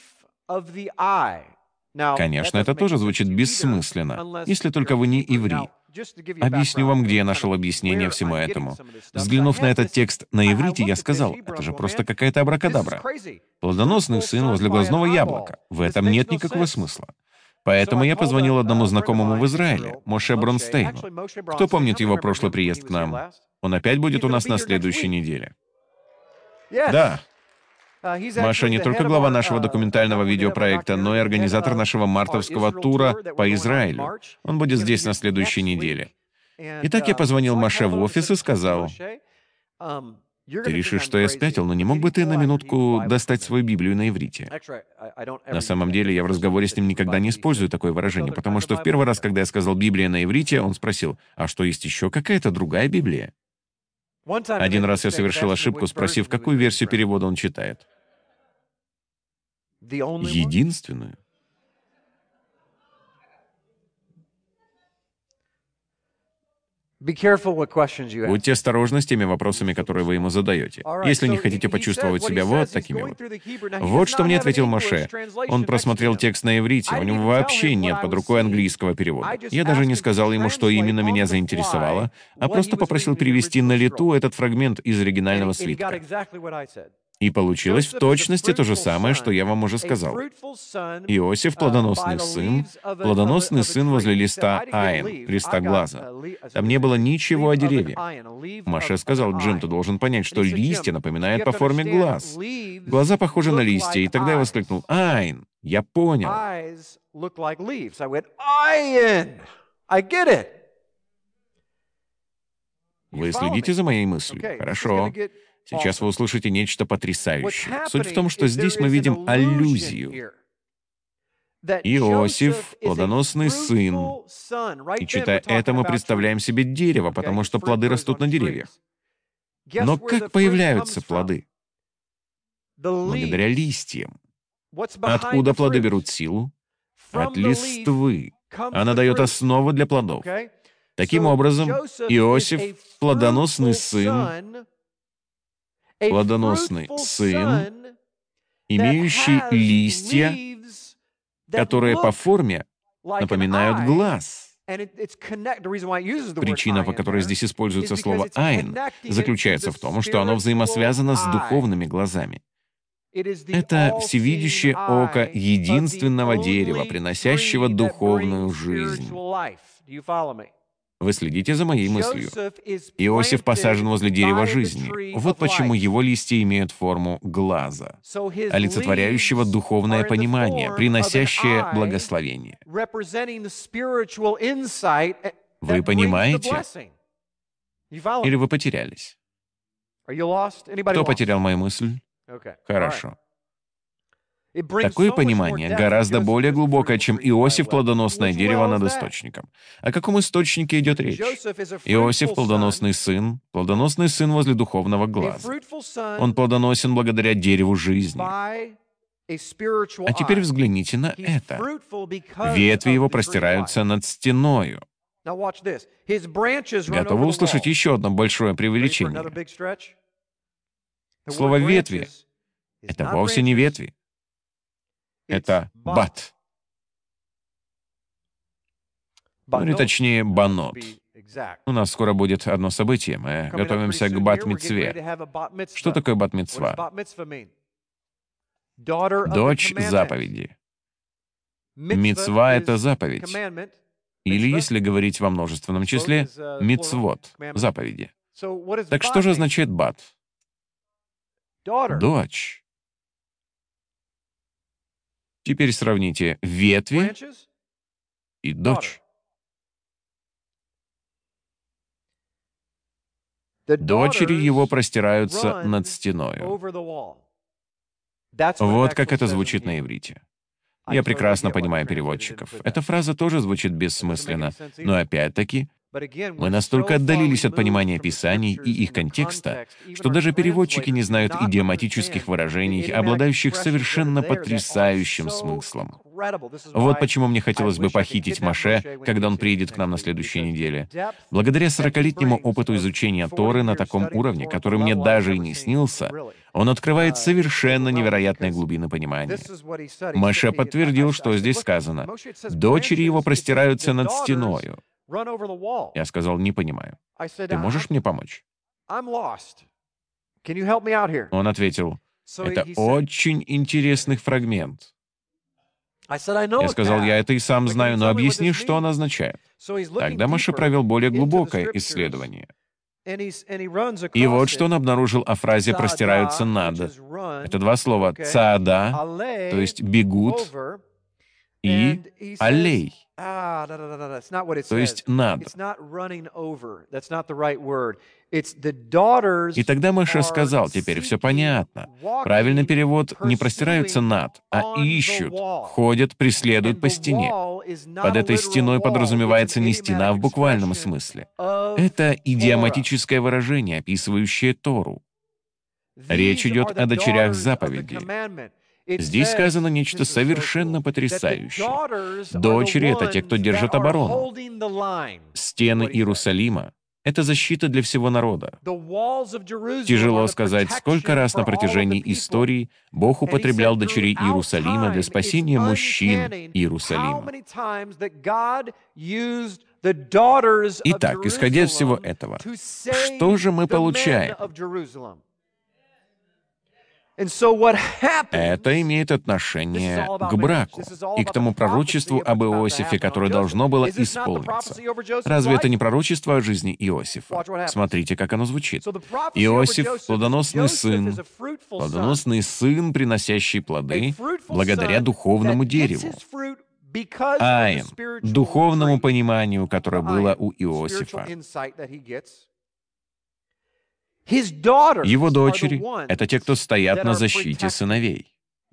S1: Конечно, это тоже звучит бессмысленно, если только вы не иври. Объясню вам, где я нашел объяснение всему этому. Взглянув на этот текст на иврите, я сказал: это же просто какая-то абракадабра. Плодоносный сын возле глазного яблока. В этом нет никакого смысла. Поэтому я позвонил одному знакомому в Израиле, Моше Бронстейну. Кто помнит его прошлый приезд к нам? Он опять будет у нас на следующей неделе. Да. Моше не только глава нашего документального видеопроекта, но и организатор нашего мартовского тура по Израилю. Он будет здесь на следующей неделе. Итак, я позвонил Моше в офис и сказал: «Ты решишь, что я спятил, но не мог бы ты на минутку достать свою Библию на иврите?» На самом деле, я в разговоре с ним никогда не использую такое выражение, потому что в первый раз, когда я сказал «Библия на иврите», он спросил: «А что, есть еще какая-то другая Библия?» Один раз я совершил ошибку, спросив, какую версию перевода он читает. Единственную. Будьте осторожны с теми вопросами, которые вы ему задаете, если не хотите почувствовать себя вот такими вот. Вот что мне ответил Моше. Он просмотрел текст на иврите, у него вообще нет под рукой английского перевода. Я даже не сказал ему, что именно меня заинтересовало, а просто попросил перевести на лету этот фрагмент из оригинального свитка. И получилось в точности то же самое, что я вам уже сказал. Иосиф — плодоносный сын возле листа айн, листа глаза. Там не было ничего о дереве. Моше сказал: «Джим, ты должен понять, что листья напоминают по форме глаз. Глаза похожи на листья». И тогда я воскликнул: «Айн, я понял». Вы следите за моей мыслью? Хорошо. Сейчас вы услышите нечто потрясающее. Суть в том, что здесь мы видим аллюзию. Иосиф — плодоносный сын. И читая это, мы представляем себе дерево, потому что плоды растут на деревьях. Но как появляются плоды? Благодаря листьям. Откуда плоды берут силу? От листвы. Она дает основу для плодов. Таким образом, Иосиф — плодоносный сын, имеющий листья, которые по форме напоминают глаз. Причина, по которой здесь используется слово «айн», заключается в том, что оно взаимосвязано с духовными глазами. Это всевидящее око единственного дерева, приносящего духовную жизнь. Вы следите за моей мыслью. Иосиф посажен возле дерева жизни. Вот почему его листья имеют форму глаза, олицетворяющего духовное понимание, приносящее благословение. Вы понимаете? Или вы потерялись? Кто потерял мою мысль? Хорошо. Такое понимание гораздо более глубокое, чем Иосиф — плодоносное дерево над источником. О каком источнике идет речь? Иосиф — плодоносный сын возле духовного глаза. Он плодоносен благодаря дереву жизни. А теперь взгляните на это. Ветви его простираются над стеною. Готовы услышать еще одно большое преувеличение? Слово «ветви» — это вовсе не ветви. Это бат. Или точнее, банот. У нас скоро будет одно событие. Мы готовимся к бат-мицве. Что такое бат-мицва? Дочь заповеди. Мицва — это заповедь. Или, если говорить во множественном числе, мицвот, заповеди. Так что же означает бат? Дочь. Теперь сравните ветви и дочь. Дочери его простираются над стеною. Вот как это звучит на иврите. Я прекрасно понимаю переводчиков. Эта фраза тоже звучит бессмысленно, но опять-таки мы настолько отдалились от понимания Писаний и их контекста, что даже переводчики не знают идиоматических выражений, обладающих совершенно потрясающим смыслом. Вот почему мне хотелось бы похитить Моше, когда он приедет к нам на следующей неделе. Благодаря 40-летнему опыту изучения Торы на таком уровне, который мне даже и не снился, он открывает совершенно невероятные глубины понимания. Моше подтвердил, что здесь сказано: «Дочери его простираются над стеною». Я сказал: «Не понимаю. Ты можешь мне помочь?» Он ответил: «Это очень интересный фрагмент». Я сказал: «Я это и сам знаю, но объясни, что он означает». Тогда Моше провел более глубокое исследование. И вот что он обнаружил о фразе «простираются над». Это два слова «цаада», то есть «бегут», и «алей», то есть «над». И тогда Моше сказал: «Теперь все понятно. Правильный перевод не простираются над, а ищут, ходят, преследуют по стене». Под этой стеной подразумевается не стена в буквальном смысле. Это идиоматическое выражение, описывающее Тору. Речь идет о дочерях заповеди. Здесь сказано нечто совершенно потрясающее. Дочери — это те, кто держит оборону. Стены Иерусалима — это защита для всего народа. Тяжело сказать, сколько раз на протяжении истории Бог употреблял дочерей Иерусалима для спасения мужчин Иерусалима. Итак, исходя из всего этого, что же мы получаем? Это имеет отношение к браку и к тому пророчеству об Иосифе, которое должно было исполниться. Разве это не пророчество о жизни Иосифа? Смотрите, как оно звучит. Иосиф — плодоносный сын, приносящий плоды благодаря духовному дереву. Айн, духовному пониманию, которое было у Иосифа. Его дочери — это те, кто стоят на защите сыновей.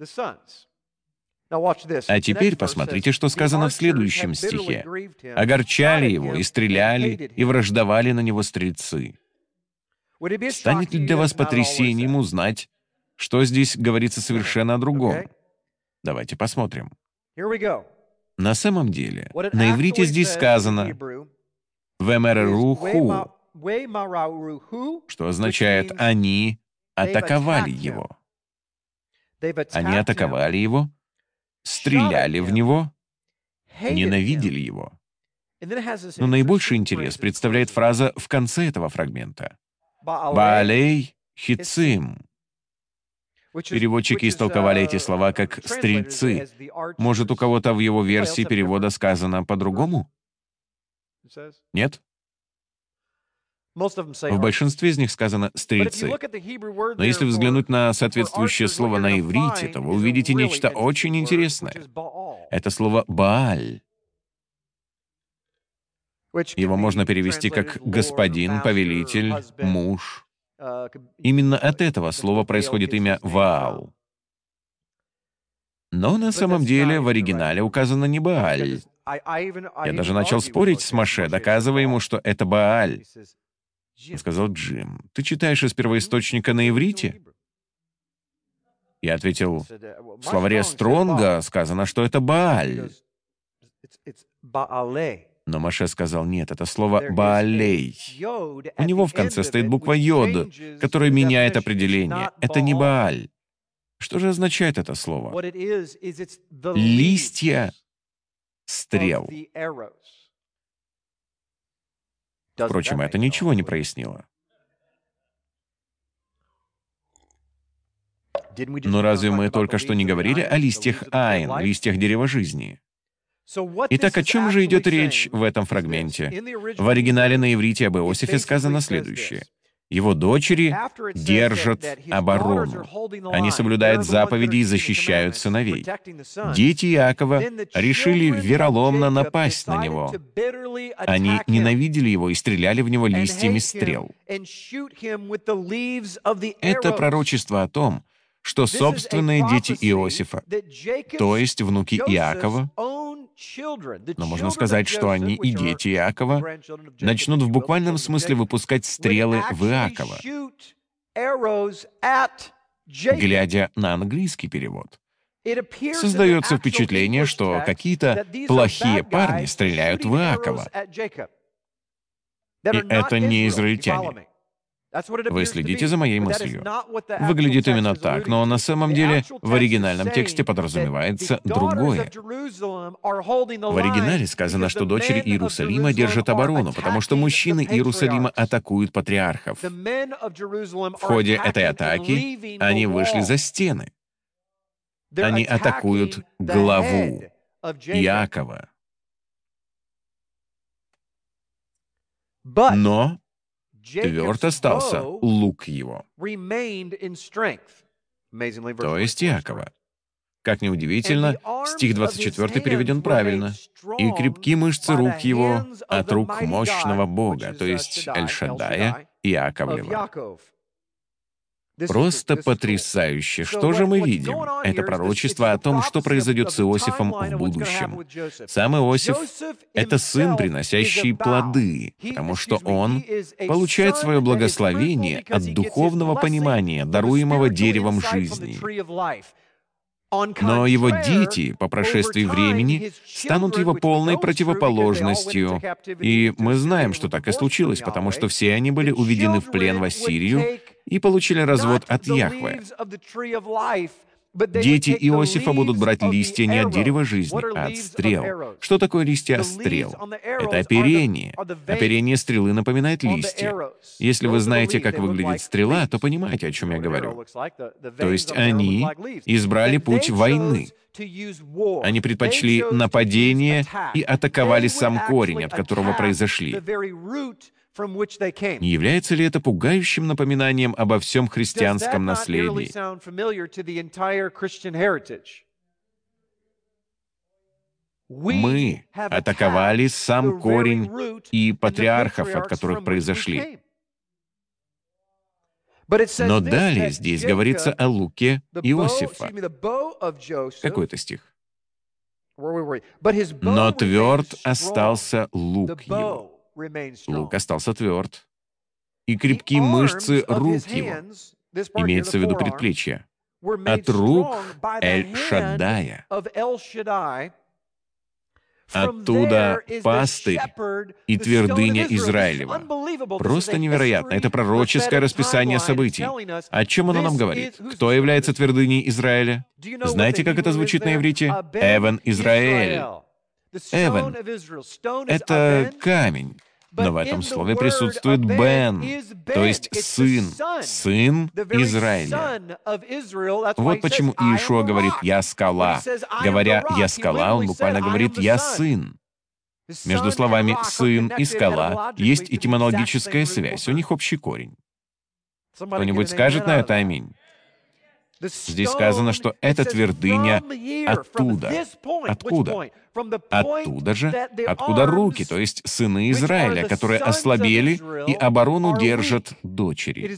S1: А теперь посмотрите, что сказано в следующем стихе. «Огорчали его, и стреляли, и враждовали на него стрельцы». Станет ли для вас потрясением узнать, что здесь говорится совершенно о другом? Давайте посмотрим. На самом деле, на иврите здесь сказано «вемереруху», что означает «они атаковали его». Они атаковали его, стреляли в него, ненавидели его. Но наибольший интерес представляет фраза в конце этого фрагмента. «Баалей хицим». Переводчики истолковали эти слова как «стрельцы». Может, у кого-то в его версии перевода сказано по-другому? Нет? В большинстве из них сказано «стрельцы». Но если взглянуть на соответствующее слово на иврите, то вы увидите нечто очень интересное. Это слово «бааль». Его можно перевести как «господин», «повелитель», «муж». Именно от этого слова происходит имя Ваал. Но на самом деле в оригинале указано не Бааль. Я даже начал спорить с Моше, доказывая ему, что это Бааль. Он сказал: «Джим, ты читаешь из первоисточника на иврите?» Я ответил: «В словаре Стронга сказано, что это Бааль». Но Моше сказал: «Нет, это слово Баалей. У него в конце стоит буква Йод, которая меняет определение. Это не Бааль». Что же означает это слово? Листья стрел. Впрочем, это ничего не прояснило. Но разве мы только что не говорили о листьях Айн, листьях дерева жизни? Итак, о чем же идет речь в этом фрагменте? В оригинале на иврите об Иосифе сказано следующее. Его дочери держат оборону. Они соблюдают заповеди и защищают сыновей. Дети Иакова решили вероломно напасть на него. Они ненавидели его и стреляли в него листьями стрел. Это пророчество о том, что собственные дети Иосифа, то есть внуки Иакова, но можно сказать, что они и дети Иакова, начнут в буквальном смысле выпускать стрелы в Иакова. Глядя на английский перевод, создается впечатление, что какие-то плохие парни стреляют в Иакова. И это не израильтяне. Вы следите за моей мыслью. Выглядит именно так, но на самом деле в оригинальном тексте подразумевается другое. В оригинале сказано, что дочери Иерусалима держат оборону, потому что мужчины Иерусалима атакуют патриархов. В ходе этой атаки они вышли за стены. Они атакуют главу Иакова. Но тверд остался лук его, то есть Иакова. Как ни удивительно, стих 24 переведен правильно. «И крепки мышцы рук его от рук мощного Бога», то есть Эль-Шаддая, Иаковлева. Просто потрясающе. Что же мы видим? Это пророчество о том, что произойдет с Иосифом в будущем. Сам Иосиф — это сын, приносящий плоды, потому что он получает свое благословение от духовного понимания, даруемого деревом жизни. Но его дети, по прошествии времени, станут его полной противоположностью. И мы знаем, что так и случилось, потому что все они были уведены в плен в Ассирию и получили развод от Яхве. Дети Иосифа будут брать листья не от дерева жизни, а от стрел. Что такое листья стрел? Это оперение. Оперение стрелы напоминает листья. Если вы знаете, как выглядит стрела, то понимаете, о чем я говорю. То есть они избрали путь войны. Они предпочли нападение и атаковали сам корень, от которого произошли. Не является ли это пугающим напоминанием обо всем христианском наследии? Мы атаковали сам корень и патриархов, от которых произошли. Но далее здесь говорится о луке Иосифа. Какой это стих? «Но тверд остался лук его». Лук остался тверд. «И крепки мышцы рук его», имеется в виду предплечья, от рук Эль-Шаддая. Оттуда пастырь и твердыня Израилева. Просто невероятно. Это пророческое расписание событий. О чем оно нам говорит? Кто является твердыней Израиля? Знаете, как это звучит на иврите? Эвен Израэль. Эвен — это камень. Но в этом слове присутствует Бен, то есть сын, сын Израиля. Вот почему Иешуа говорит «Я скала». Говоря «Я скала», он буквально говорит «Я сын». Между словами «сын» и «скала» есть этимологическая связь, у них общий корень. Кто-нибудь скажет на это «Аминь»? Здесь сказано, что эта твердыня оттуда. Откуда? Оттуда же, откуда руки, то есть сыны Израиля, которые ослабели и оборону держат дочери.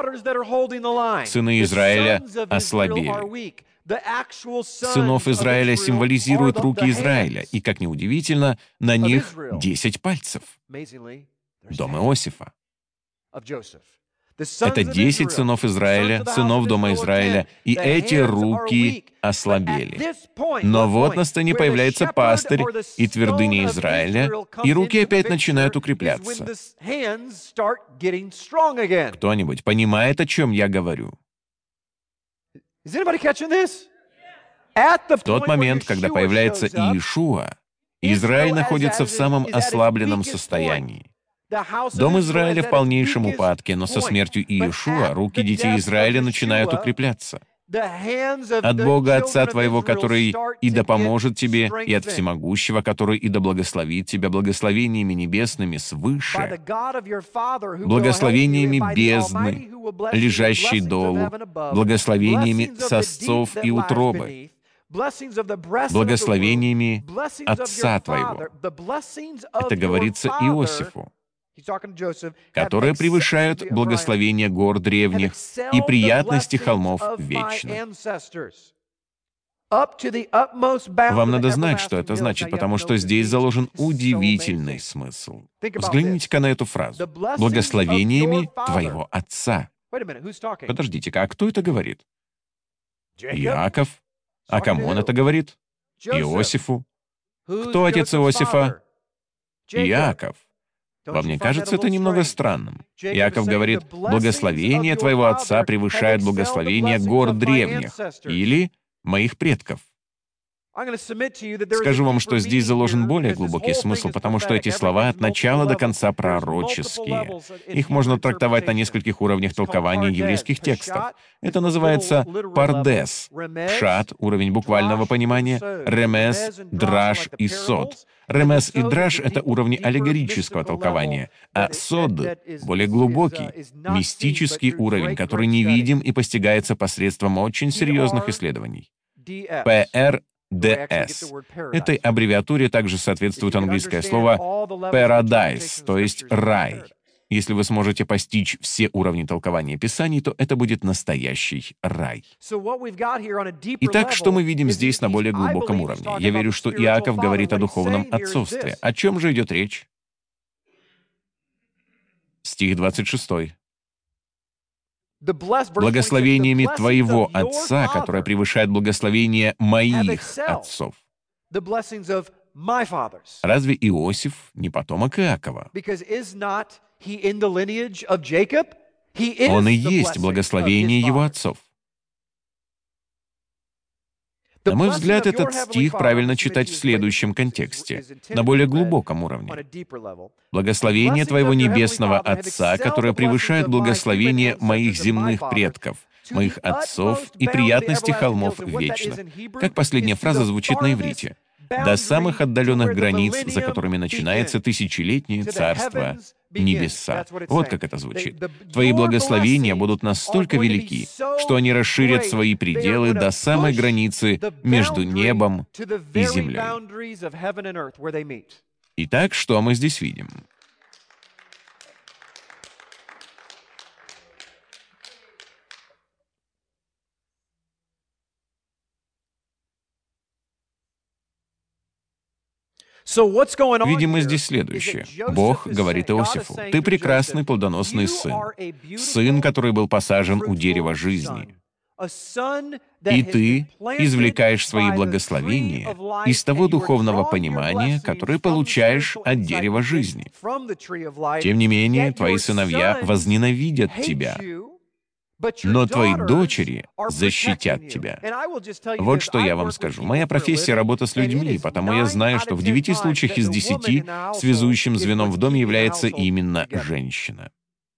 S1: Сыны Израиля ослабели. Сынов Израиля символизируют руки Израиля, и, как ни удивительно, на них 10 пальцев. Дом Иосифа. Это 10 сынов Израиля, сынов дома Израиля, и эти руки ослабели. Но вот на сцене появляется пастырь и твердыня Израиля, и руки опять начинают укрепляться. Кто-нибудь понимает, о чем я говорю? В тот момент, когда появляется Иешуа, Израиль находится в самом ослабленном состоянии. Дом Израиля в полнейшем упадке, но со смертью Иешуа руки детей Израиля начинают укрепляться. От Бога Отца твоего, который и да поможет тебе, и от Всемогущего, который и да благословит тебя благословениями небесными свыше, благословениями бездны, лежащей долу, благословениями сосцов и утробы, благословениями Отца твоего. Это говорится Иосифу, которые превышают благословение гор древних и приятности холмов вечных. Вам надо знать, что это значит, потому что здесь заложен удивительный смысл. Взгляните-ка на эту фразу. «Благословениями твоего отца». Подождите-ка, а кто это говорит? Иаков. А кому он это говорит? Иосифу. Кто отец Иосифа? Иаков. Вам не кажется это немного странным? Иаков говорит, «Благословение твоего отца превышает благословение гор древних» или «моих предков». Скажу вам, что здесь заложен более глубокий смысл, потому что эти слова от начала до конца пророческие. Их можно трактовать на нескольких уровнях толкования еврейских текстов. Это называется пардес, пшат, уровень буквального понимания, ремес, драш и сод. Ремес и драш — это уровни аллегорического толкования, а сод — более глубокий, мистический уровень, который невидим и постигается посредством очень серьезных исследований. ПР DS. Этой аббревиатуре также соответствует английское слово paradise, то есть рай. Если вы сможете постичь все уровни толкования Писаний, то это будет настоящий рай. Итак, что мы видим здесь на более глубоком уровне? Я верю, что Иаков говорит о духовном отцовстве. О чем же идет речь? Стих 26. «Благословениями твоего отца, которое превышает благословение моих отцов». Разве Иосиф не потомок Иакова? Он и есть благословение его отцов. На мой взгляд, этот стих правильно читать в следующем контексте, на более глубоком уровне. «Благословение твоего небесного Отца, которое превышает благословение моих земных предков, моих отцов и приятности холмов вечных». Как последняя фраза звучит на иврите? «До самых отдаленных границ, за которыми начинается тысячелетнее царство небеса». Вот как это звучит. «Твои благословения будут настолько велики, что они расширят свои пределы до самой границы между небом и землей». Итак, что мы здесь видим? Видим мы здесь следующее. Бог говорит Иосифу, «Ты прекрасный плодоносный сын, сын, который был посажен у дерева жизни. И ты извлекаешь свои благословения из того духовного понимания, которое получаешь от дерева жизни. Тем не менее, твои сыновья возненавидят тебя, но твои дочери защитят тебя». Вот что я вам скажу. Моя профессия — работа с людьми, потому я знаю, что в 9 случаях из 10 связующим звеном в доме является именно женщина.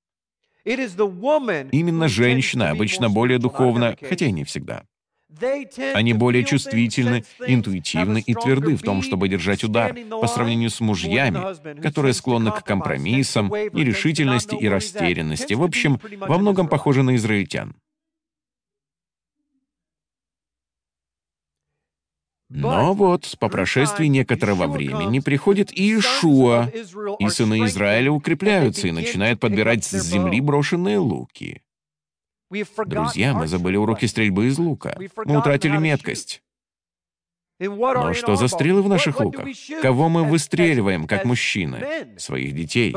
S1: Именно женщина обычно более духовна, хотя и не всегда. Они более чувствительны, интуитивны и тверды в том, чтобы держать удар, по сравнению с мужьями, которые склонны к компромиссам, нерешительности и растерянности. В общем, во многом похожи на израильтян. Но вот, по прошествии некоторого времени приходит Иешуа, и сыны Израиля укрепляются и начинают подбирать с земли брошенные луки. Друзья, мы забыли уроки стрельбы из лука. Мы утратили меткость. Но что за стрелы в наших луках? Кого мы выстреливаем, как мужчины? Своих детей.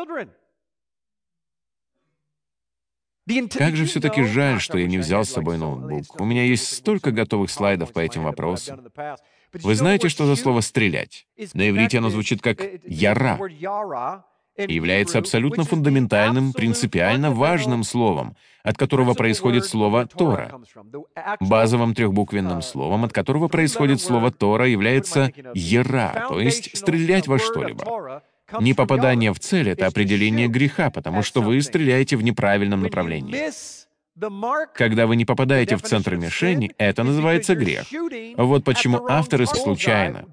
S1: Как же все-таки жаль, что я не взял с собой ноутбук. У меня есть столько готовых слайдов по этим вопросам. Вы знаете, что за слово «стрелять»? На иврите оно звучит как «яра» и является абсолютно фундаментальным, принципиально важным словом, от которого происходит слово «Тора». Базовым трехбуквенным словом, от которого происходит слово «Тора», является «яра», то есть «стрелять во что-либо». Непопадание в цель — это определение греха, потому что вы стреляете в неправильном направлении. Когда вы не попадаете в центр мишени, это называется грех. Вот почему автор случайно.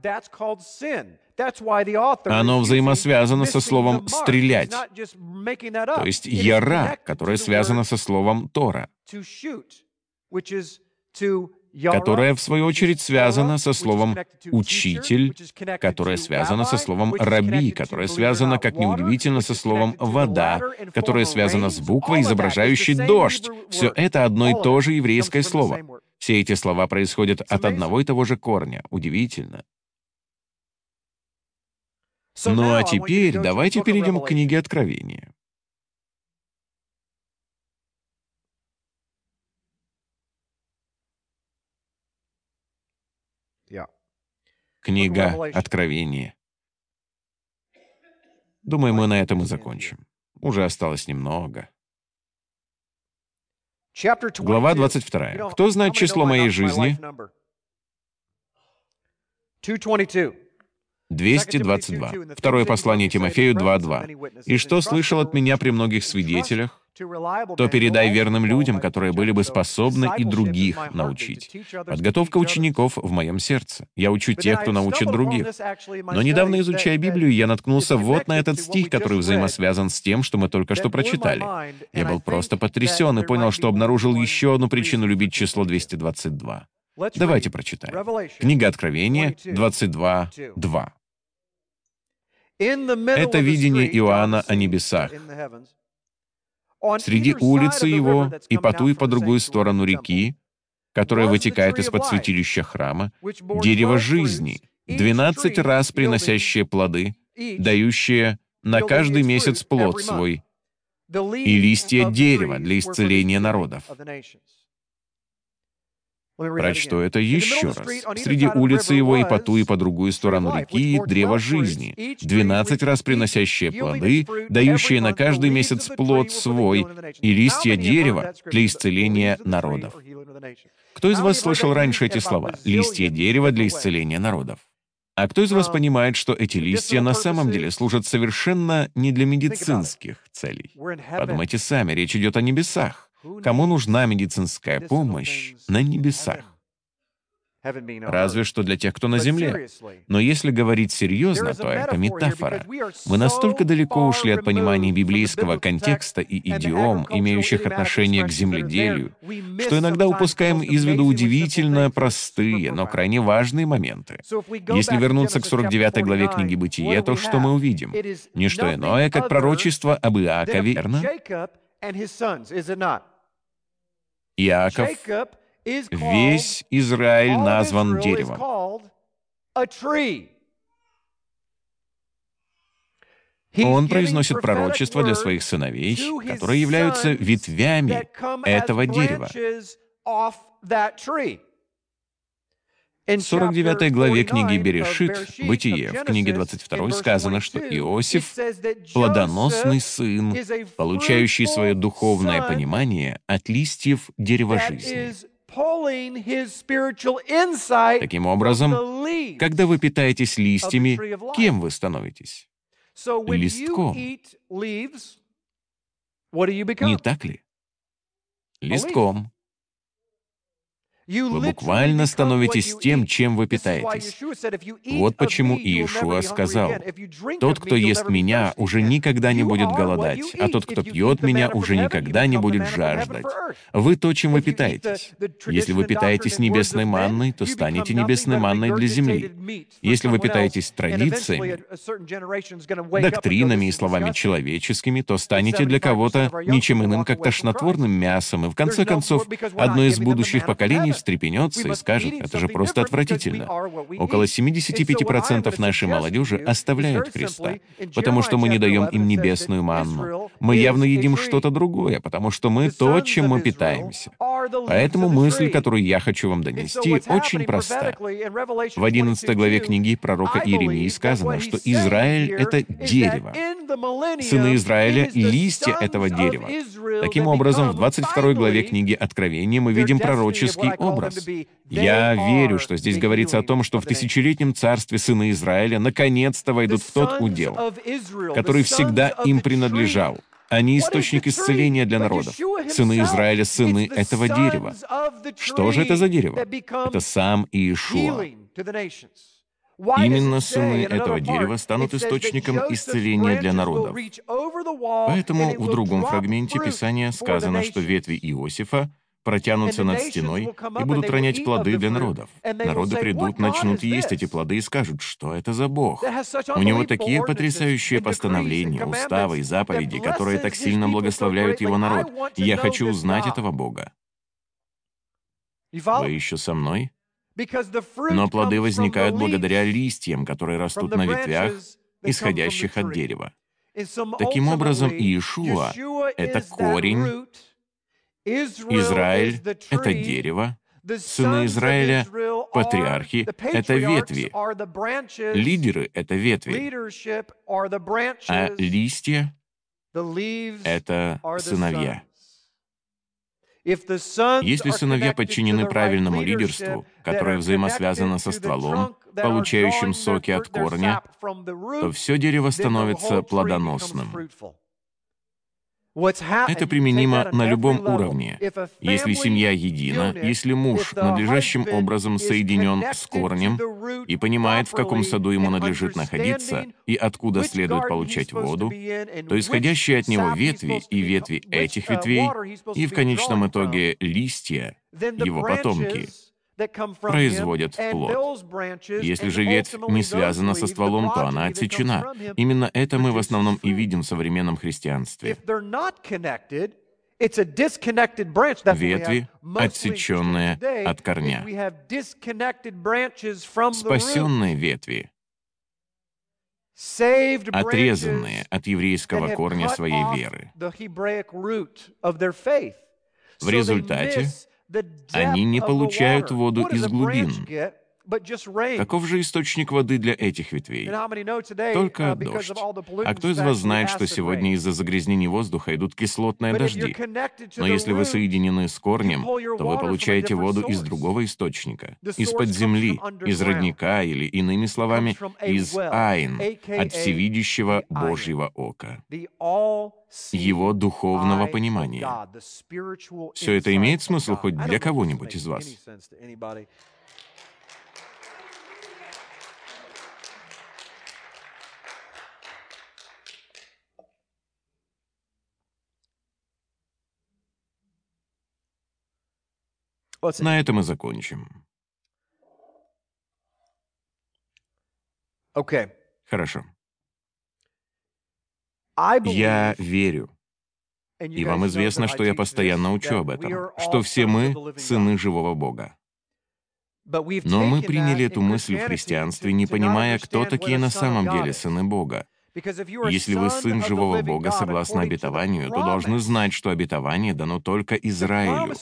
S1: Оно взаимосвязано со словом «стрелять», то есть «яра», которое связано со словом «тора», которое, в свою очередь, связано со словом «учитель», которое связано со словом «раби», которое связано, как ни удивительно, со словом «вода», которое связано с буквой, изображающей «дождь». Все это одно и то же еврейское слово. Все эти слова происходят от одного и того же корня. Удивительно. Ну а теперь давайте перейдем к книге Откровения. Книга Откровения. Думаю, мы на этом и закончим. Уже осталось немного. Глава 22. Кто знает число моей жизни? 222. Второе послание Тимофею 2:2. «И что слышал от меня при многих свидетелях, то передай верным людям, которые были бы способны и других научить. Подготовка учеников в моем сердце. Я учу тех, кто научит других». Но недавно, изучая Библию, я наткнулся вот на этот стих, который взаимосвязан с тем, что мы только что прочитали. Я был просто потрясен и понял, что обнаружил еще одну причину любить число 222. Давайте прочитаем. Книга Откровения 22:2. Это видение Иоанна о небесах. Среди улицы его и по ту и по другую сторону реки, которая вытекает из-под святилища храма, дерево жизни, 12 раз приносящее плоды, дающее на каждый месяц плод свой, и листья дерева для исцеления народов. Прочту это еще раз. Среди улицы его и по ту и по другую сторону реки древо жизни, 12 раз приносящее плоды, дающее на каждый месяц плод свой, и листья дерева для исцеления народов. Кто из вас слышал раньше эти слова? Листья дерева для исцеления народов. А кто из вас понимает, что эти листья на самом деле служат совершенно не для медицинских целей? Подумайте сами, речь идет о небесах. Кому нужна медицинская помощь на небесах? Разве что для тех, кто на земле. Но если говорить серьезно, то это метафора. Мы настолько далеко ушли от понимания библейского контекста и идиом, имеющих отношение к земледелию, что иногда упускаем из виду удивительно простые, но крайне важные моменты. Если вернуться к 49 главе книги «Бытие», то что мы увидим? Не что иное, как пророчество об Иакове, верно? Иаков, весь Израиль назван деревом. Он произносит пророчество для своих сыновей, которые являются ветвями этого дерева. В 49 главе книги Берешит, Бытие, в книге 22 сказано, что Иосиф — плодоносный сын, получающий свое духовное понимание от листьев дерева жизни. Таким образом, когда вы питаетесь листьями, кем вы становитесь? Листком. Не так ли? Листком. Вы буквально становитесь тем, чем вы питаетесь. Вот почему Иешуа сказал: «Тот, кто ест Меня, уже никогда не будет голодать, а тот, кто пьет Меня, уже никогда не будет жаждать». Вы то, чем вы питаетесь. Если вы питаетесь небесной манной, то станете небесной манной для земли. Если вы питаетесь традициями, доктринами и словами человеческими, то станете для кого-то ничем иным, как тошнотворным мясом, и в конце концов, одно из будущих поколений встрепенется и скажет: «Это же просто отвратительно». Около 75% нашей молодежи оставляют Христа, потому что мы не даем им небесную манну. Мы явно едим что-то другое, потому что мы то, чем мы питаемся. Поэтому мысль, которую я хочу вам донести, очень проста. В 11 главе книги пророка Иеремии сказано, что Израиль — это дерево. Сыны Израиля — листья этого дерева. Таким образом, в 22 главе книги Откровения мы видим пророческий образ. Я верю, что здесь говорится о том, что в тысячелетнем царстве сыны Израиля наконец-то войдут в тот удел, который всегда им принадлежал. Они источник исцеления для народов. Сыны Израиля — сыны этого дерева. Что же это за дерево? Это сам Иешуа. Именно сыны этого дерева станут источником исцеления для народов. Поэтому в другом фрагменте Писания сказано, что ветви Иосифа протянутся над стеной и будут ронять плоды для народов. Народы придут, начнут есть эти плоды и скажут: «Что это за Бог? У него такие потрясающие постановления, уставы и заповеди, которые так сильно благословляют его народ. Я хочу узнать этого Бога». Вы еще со мной? Но плоды возникают благодаря листьям, которые растут на ветвях, исходящих от дерева. Таким образом, Иешуа — это корень, Израиль — это дерево, сыны Израиля — патриархи — это ветви, лидеры — это ветви, а листья — это сыновья. Если сыновья подчинены правильному лидерству, которое взаимосвязано со стволом, получающим соки от корня, то все дерево становится плодоносным. Это применимо на любом уровне. Если семья едина, если муж надлежащим образом соединен с корнем и понимает, в каком саду ему надлежит находиться и откуда следует получать воду, то исходящие от него ветви и ветви этих ветвей, и в конечном итоге листья, его потомки, производят плод. Если же ветвь не связана со стволом, то она отсечена. Именно это мы в основном и видим в современном христианстве. Ветви, отсеченные от корня. Спасенные ветви, отрезанные от еврейского корня своей веры. В результате они не получают воду из глубин. Каков же источник воды для этих ветвей? Только дождь. А кто из вас знает, что сегодня из-за загрязнений воздуха идут кислотные дожди? Но если вы соединены с корнем, то вы получаете воду из другого источника, из-под земли, из родника или, иными словами, из Айн, от всевидящего Божьего ока, его духовного понимания. Все это имеет смысл хоть для кого-нибудь из вас? На этом и закончим. Хорошо. Я верю, и вам известно, что я постоянно учу об этом, что все мы — сыны живого Бога. Но мы приняли эту мысль в христианстве, не понимая, кто такие на самом деле сыны Бога. Если вы сын живого Бога согласно обетованию, то должны знать, что обетование дано только Израилю.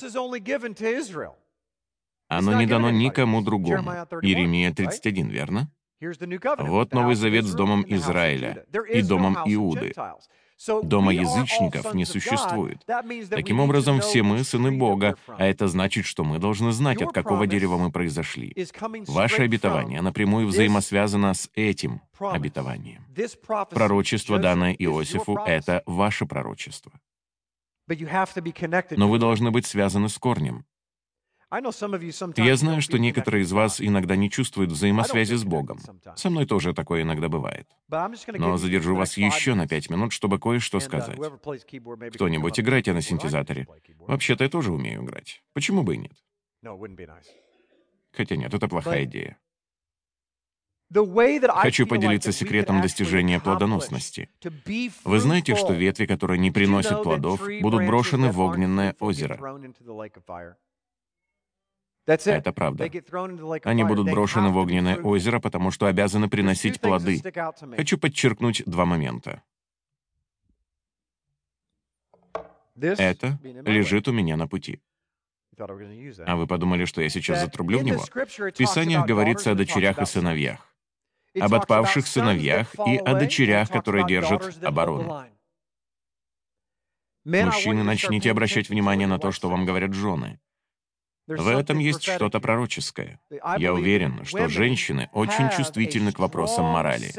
S1: Оно не дано никому другому. Иеремия 31, верно? Вот Новый Завет с домом Израиля и домом Иуды. Дома язычников не существует. Таким образом, все мы — сыны Бога, а это значит, что мы должны знать, от какого дерева мы произошли. Ваше обетование напрямую взаимосвязано с этим обетованием. Пророчество, данное Иосифу, — это ваше пророчество. Но вы должны быть связаны с корнем. Я знаю, что некоторые из вас иногда не чувствуют взаимосвязи с Богом. Со мной тоже такое иногда бывает. Но задержу вас еще на 5 минут, чтобы кое-что сказать. Кто-нибудь играйте на синтезаторе. Вообще-то я тоже умею играть. Почему бы и нет? Хотя нет, это плохая идея. Хочу поделиться секретом достижения плодоносности. Вы знаете, что ветви, которые не приносят плодов, будут брошены в огненное озеро? Это правда. Они будут брошены в огненное озеро, потому что обязаны приносить плоды. Хочу подчеркнуть два момента. Это лежит у меня на пути. А вы подумали, что я сейчас затрублю в него? В Писаниях говорится о дочерях и сыновьях, об отпавших сыновьях и о дочерях, которые держат оборону. Мужчины, начните обращать внимание на то, что вам говорят жены. В этом есть что-то пророческое. Я уверен, что женщины очень чувствительны к вопросам морали.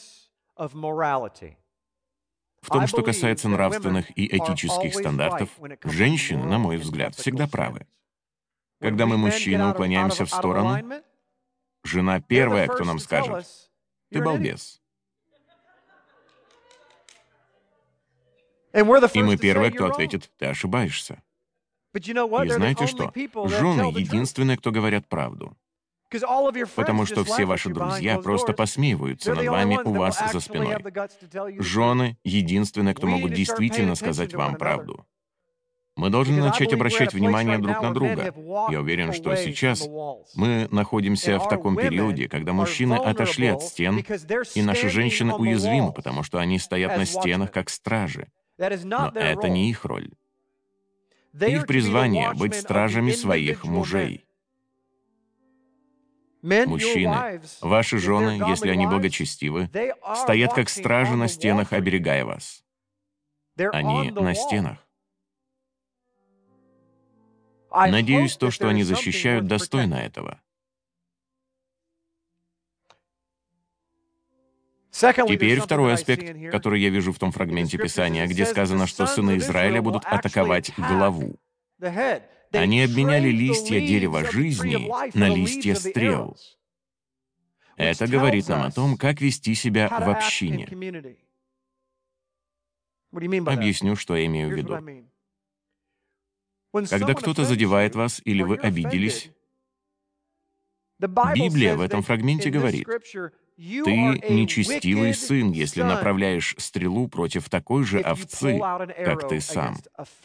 S1: В том, что касается нравственных и этических стандартов, женщины, на мой взгляд, всегда правы. Когда мы, мужчины, уклоняемся в сторону, жена первая, кто нам скажет: «Ты балбес». И мы первые, кто ответит: «Ты ошибаешься». И знаете что? Жены — единственные, кто говорят правду. Потому что все ваши друзья просто посмеиваются над вами у вас за спиной. Жены — единственные, кто могут действительно сказать вам правду. Мы должны начать обращать внимание друг на друга. Я уверен, что сейчас мы находимся в таком периоде, когда мужчины отошли от стен, и наши женщины уязвимы, потому что они стоят на стенах как стражи. Но это не их роль. Их призвание — быть стражами своих мужей. Мужчины, ваши жены, если они благочестивы, стоят как стражи на стенах, оберегая вас. Они на стенах. Надеюсь, то, что они защищают, достойно этого. Теперь второй аспект, который я вижу в том фрагменте Писания, где сказано, что сыны Израиля будут атаковать главу. Они обменяли листья дерева жизни на листья стрел. Это говорит нам о том, как вести себя в общине. Объясню, что я имею в виду. Когда кто-то задевает вас или вы обиделись, Библия в этом фрагменте говорит: «Ты нечестивый сын, если направляешь стрелу против такой же овцы, как ты сам».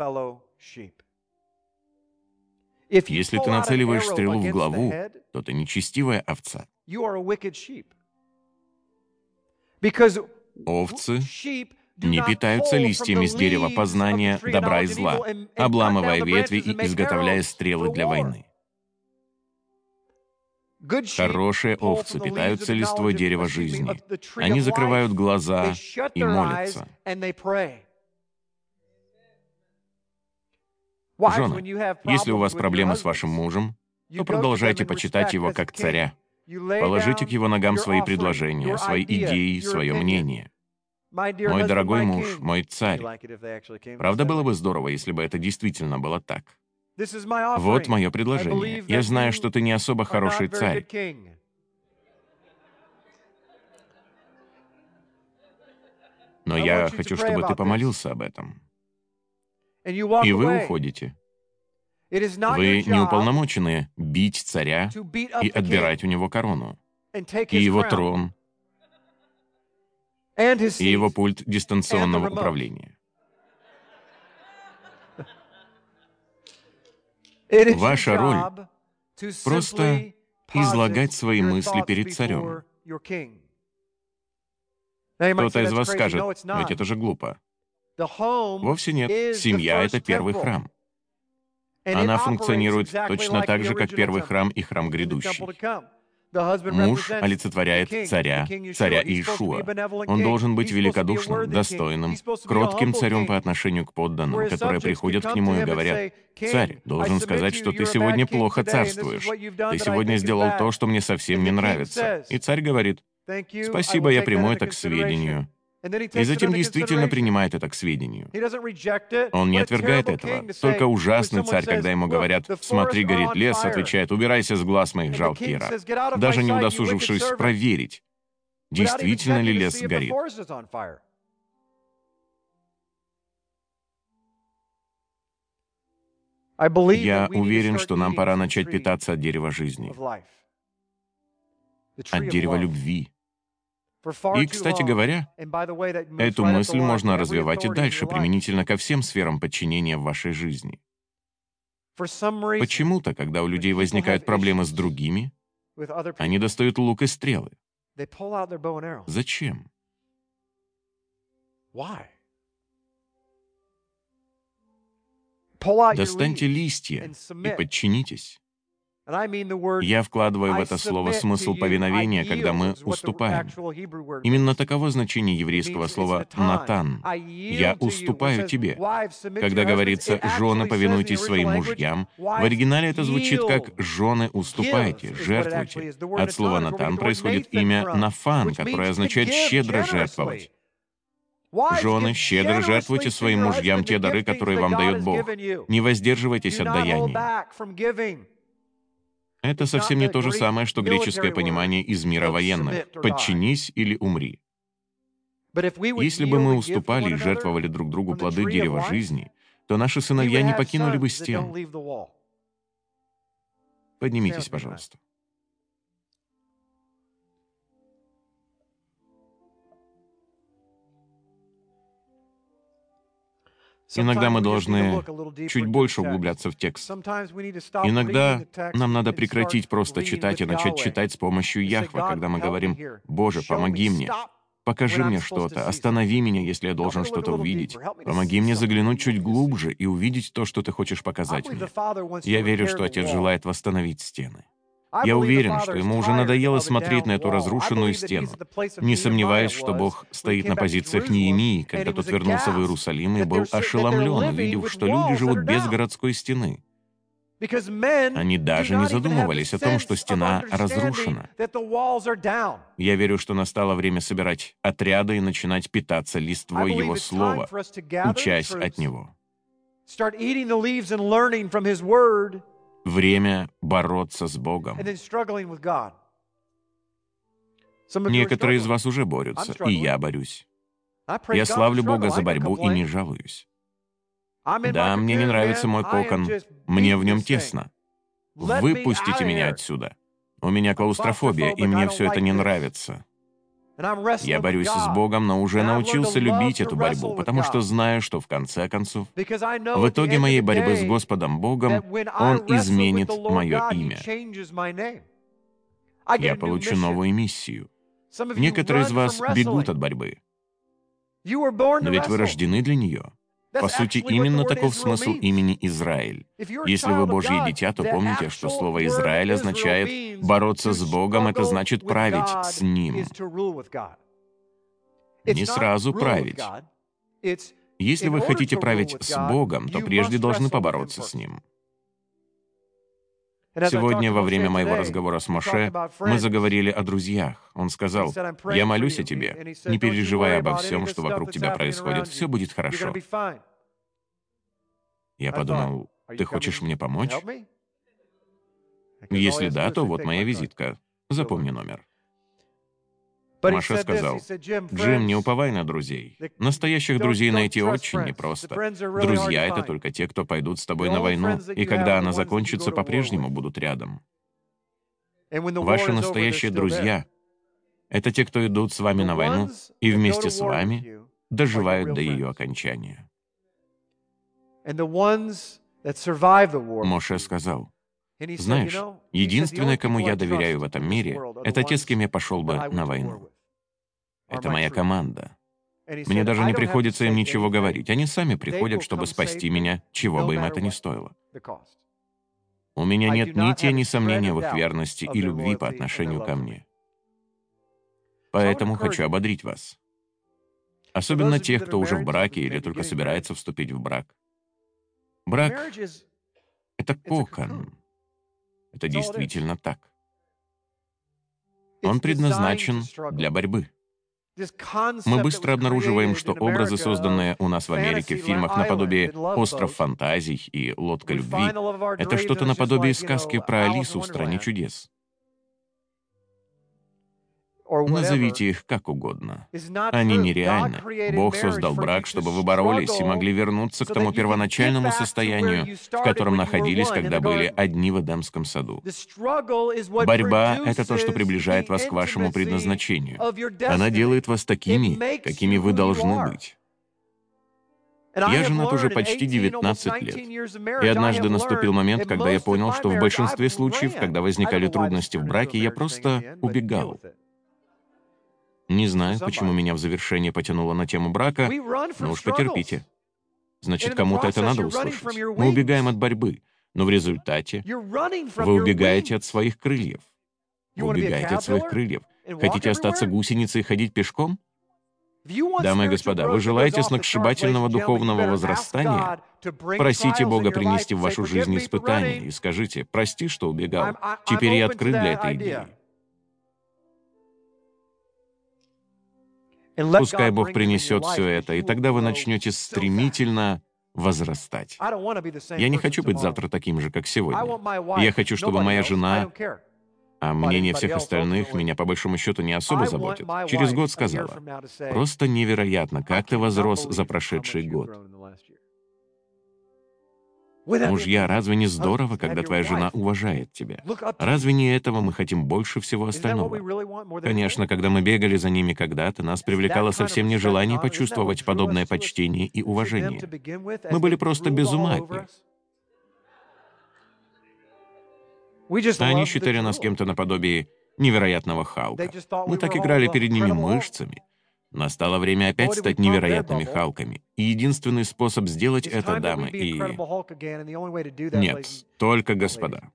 S1: Если ты нацеливаешь стрелу в главу, то ты нечестивая овца. Овцы не питаются листьями с дерева познания добра и зла, обламывая ветви и изготовляя стрелы для войны. Хорошие овцы питаются листвой дерева жизни. Они закрывают глаза и молятся. Жены, если у вас проблемы с вашим мужем, то продолжайте почитать его как царя. Положите к его ногам свои предложения, свои идеи, свое мнение. Мой дорогой муж, мой царь. Правда, было бы здорово, если бы это действительно было так. Вот мое предложение. Я знаю, что ты не особо хороший царь. Но я хочу, чтобы ты помолился об этом. И вы уходите. Вы не уполномочены бить царя и отбирать у него корону, и его трон, и его пульт дистанционного управления. Ваша роль — просто излагать свои мысли перед царем. Кто-то из вас скажет: «Но ведь это же глупо». Вовсе нет. Семья — это первый храм. Она функционирует точно так же, как первый храм и храм грядущий. Муж олицетворяет царя, царя Иешуа. Он должен быть великодушным, достойным, кротким царем по отношению к подданным, которые приходят к нему и говорят: «Царь, должен сказать, что ты сегодня плохо царствуешь. Ты сегодня сделал то, что мне совсем не нравится». И царь говорит: «Спасибо, я приму это к сведению». И затем действительно принимает это к сведению. Он не отвергает этого. Только ужасный царь, когда ему говорят: «Смотри, горит лес», отвечает: «Убирайся с глаз моих, жалкий раб», даже не удосужившись проверить, действительно ли лес горит. Я уверен, что нам пора начать питаться от дерева жизни, от дерева любви. И, кстати говоря, эту мысль можно развивать и дальше, применительно ко всем сферам подчинения в вашей жизни. Почему-то, когда у людей возникают проблемы с другими, они достают лук и стрелы. Зачем? Достаньте листья и подчинитесь. Я вкладываю в это слово смысл повиновения, когда мы уступаем. Именно таково значение еврейского слова «натан». «Я уступаю тебе». Когда говорится «жены, повинуйтесь своим мужьям», в оригинале это звучит как «жены, уступайте, жертвуйте». От слова «натан» происходит имя «нафан», которое означает «щедро жертвовать». Жены, щедро жертвуйте своим мужьям те дары, которые вам дает Бог. Не воздерживайтесь от даяния. Это совсем не то же самое, что греческое понимание из мира военных: «подчинись или умри». Если бы мы уступали и жертвовали друг другу плоды дерева жизни, то наши сыновья не покинули бы стен. Поднимитесь, пожалуйста. Иногда мы должны чуть больше углубляться в текст. Иногда нам надо прекратить просто читать и начать читать с помощью Яхве, когда мы говорим: «Боже, помоги мне, покажи мне что-то, останови меня, если я должен что-то увидеть. Помоги мне заглянуть чуть глубже и увидеть то, что Ты хочешь показать мне». Я верю, что Отец желает восстановить стены. Я уверен, что ему уже надоело смотреть на эту разрушенную стену. Не сомневаюсь, что Бог стоит на позициях Неемии, когда тот вернулся в Иерусалим и был ошеломлен, увидев, что люди живут без городской стены. Они даже не задумывались о том, что стена разрушена. Я верю, что настало время собирать отряды и начинать питаться листвой Его Слова, учась от Него. Время бороться с Богом. Некоторые из вас уже борются, и я борюсь. Я славлю Бога за борьбу и не жалуюсь. Да, мне не нравится мой кокон, мне в нем тесно. Выпустите меня отсюда. У меня клаустрофобия, и мне все это не нравится. Я борюсь с Богом, но уже научился любить эту борьбу, потому что знаю, что в конце концов, в итоге моей борьбы с Господом Богом, Он изменит мое имя. Я получу новую миссию. Некоторые из вас бегут от борьбы, но ведь вы рождены для нее. По сути, именно таков смысл имени Израиль. Если вы Божье дитя, то помните, что слово «Израиль» означает «бороться с Богом», это значит править с Ним. Не сразу править. Если вы хотите править с Богом, то прежде должны побороться с Ним. Сегодня, во время моего разговора с Моше, мы заговорили о друзьях. Он сказал: «Я молюсь о тебе. Не переживай обо всем, что вокруг тебя происходит. Все будет хорошо». Я подумал: «Ты хочешь мне помочь? Если да, то вот моя визитка. Запомни номер». Моше сказал: «Джим, не уповай на друзей. Настоящих друзей найти очень непросто. Друзья — это только те, кто пойдут с тобой на войну, и когда она закончится, по-прежнему будут рядом. Ваши настоящие друзья — это те, кто идут с вами на войну и вместе с вами доживают до ее окончания». Моше сказал: «Знаешь, единственное, кому я доверяю в этом мире, это те, с кем я пошел бы на войну. Это моя команда. Мне даже не приходится им ничего говорить. Они сами приходят, чтобы спасти меня, чего бы им это ни стоило. У меня нет ни тени сомнения в их верности и любви по отношению ко мне. Поэтому хочу ободрить вас. Особенно тех, кто уже в браке или только собирается вступить в брак. Брак — это кокон. Это действительно так. Он предназначен для борьбы. Мы быстро обнаруживаем, что образы, созданные у нас в Америке в фильмах наподобие «Остров фантазий» и «Лодка любви», это что-то наподобие сказки про Алису в «Стране чудес». Назовите их как угодно. Они нереальны. Бог создал брак, чтобы вы боролись и могли вернуться к тому первоначальному состоянию, в котором находились, когда были одни в Эдемском саду. Борьба — это то, что приближает вас к вашему предназначению. Она делает вас такими, какими вы должны быть. Я женат уже почти 19 лет. И однажды наступил момент, когда я понял, что в большинстве случаев, когда возникали трудности в браке, я просто убегал. Не знаю, почему меня в завершение потянуло на тему брака, но уж потерпите. Значит, кому-то это надо услышать. Мы убегаем от борьбы, но в результате вы убегаете от своих крыльев. Вы убегаете от своих крыльев. Хотите остаться гусеницей и ходить пешком? Дамы и господа, вы желаете сногсшибательного духовного возрастания? Просите Бога принести в вашу жизнь испытания и скажите: «Прости, что убегал. Теперь я открыт для этой идеи». Пускай Бог принесет все это, и тогда вы начнете стремительно возрастать. Я не хочу быть завтра таким же, как сегодня. Я хочу, чтобы моя жена, а мнение всех остальных меня по большому счету не особо заботит, через год сказала: «Просто невероятно, как ты возрос за прошедший год». Мужья, разве не здорово, когда твоя жена уважает тебя? Разве не этого мы хотим больше всего остального? Конечно, когда мы бегали за ними когда-то, нас привлекало совсем не желание почувствовать подобное почтение и уважение. Мы были просто без ума от них. А они считали нас кем-то наподобие невероятного Халка. Мы так играли перед ними мышцами. Настало время опять стать невероятными Халками. И единственный способ сделать это, дамы и... Нет, только господа.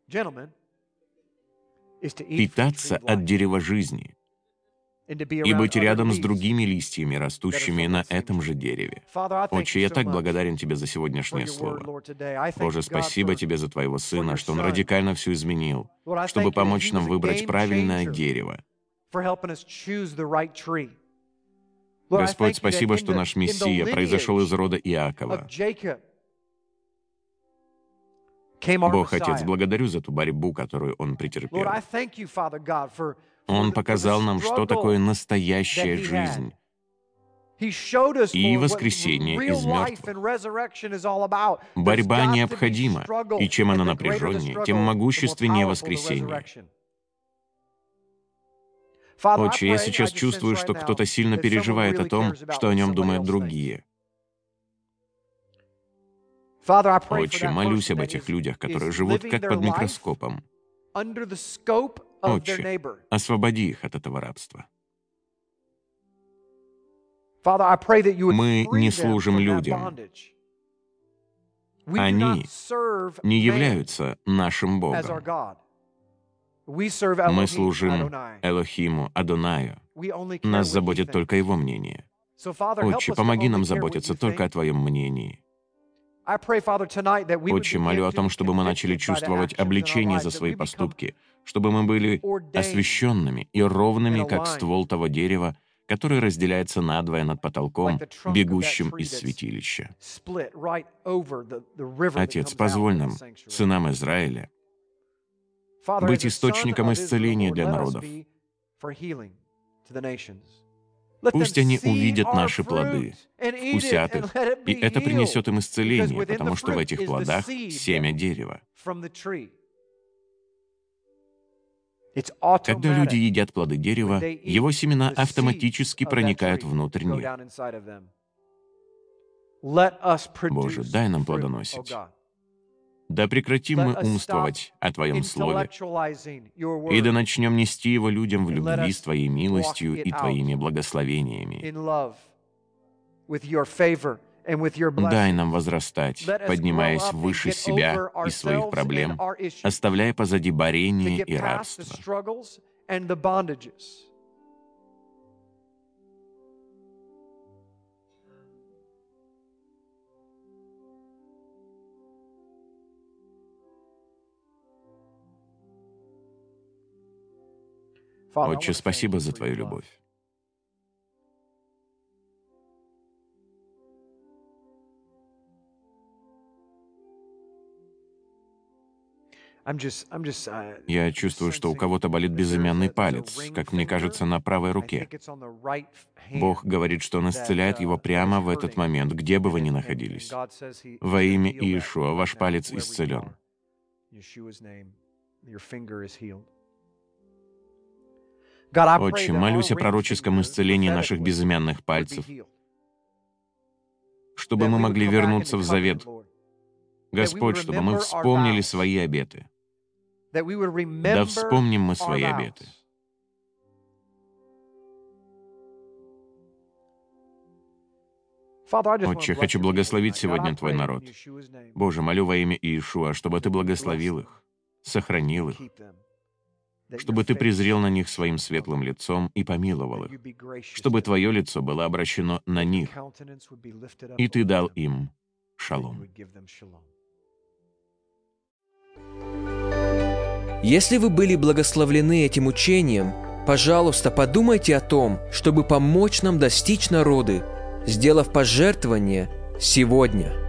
S1: Питаться от дерева жизни и быть рядом с другими листьями, растущими на этом же дереве. Отче, я так благодарен Тебе за сегодняшнее слово. Боже, спасибо Тебе за Твоего Сына, что Он радикально все изменил, чтобы помочь нам выбрать правильное дерево. Господь, спасибо, что наш Мессия произошел из рода Иакова. Бог, Отец, благодарю за ту борьбу, которую Он претерпел. Он показал нам, что такое настоящая жизнь. И воскресение из мертвых. Борьба необходима, и чем она напряженнее, тем могущественнее воскресение. Отче, я сейчас чувствую, что кто-то сильно переживает о том, что о нем думают другие. Отче, молюсь об этих людях, которые живут как под микроскопом. Отче, освободи их от этого рабства. Мы не служим людям. Они не являются нашим Богом. Мы служим Элохиму, Адонаю. Нас заботит только Его мнение. Отче, помоги нам заботиться только о Твоем мнении. Отче, молю о том, чтобы мы начали чувствовать обличение за свои поступки, чтобы мы были освященными и ровными, как ствол того дерева, который разделяется надвое над потолком, бегущим из святилища. Отец, позволь нам, сынам Израиля, быть источником исцеления для народов. Пусть они увидят наши плоды, вкусят их, и это принесет им исцеление, потому что в этих плодах семя дерева. Когда люди едят плоды дерева, его семена автоматически проникают внутрь них. Боже, дай нам плодоносить. Да прекратим мы умствовать о Твоем Слове, и да начнем нести его людям в любви с Твоей милостью и Твоими благословениями. Дай нам возрастать, поднимаясь выше себя и своих проблем, оставляя позади борение и рабство. Отче, спасибо за Твою любовь. Я чувствую, что у кого-то болит безымянный палец, как мне кажется, на правой руке. Бог говорит, что Он исцеляет его прямо в этот момент, где бы вы ни находились. Во имя Иешуа ваш палец исцелен. Отче, молюсь о пророческом исцелении наших безымянных пальцев, чтобы мы могли вернуться в завет. Господь, чтобы мы вспомнили свои обеты. Да вспомним мы свои обеты. Отче, хочу благословить сегодня Твой народ. Боже, молю во имя Иешуа, чтобы Ты благословил их, сохранил их, чтобы Ты презрел на них своим светлым лицом и помиловал их, чтобы Твое лицо было обращено на них, и Ты дал им шалом.
S2: Если вы были благословлены этим учением, пожалуйста, подумайте о том, чтобы помочь нам достичь народы, сделав пожертвование сегодня.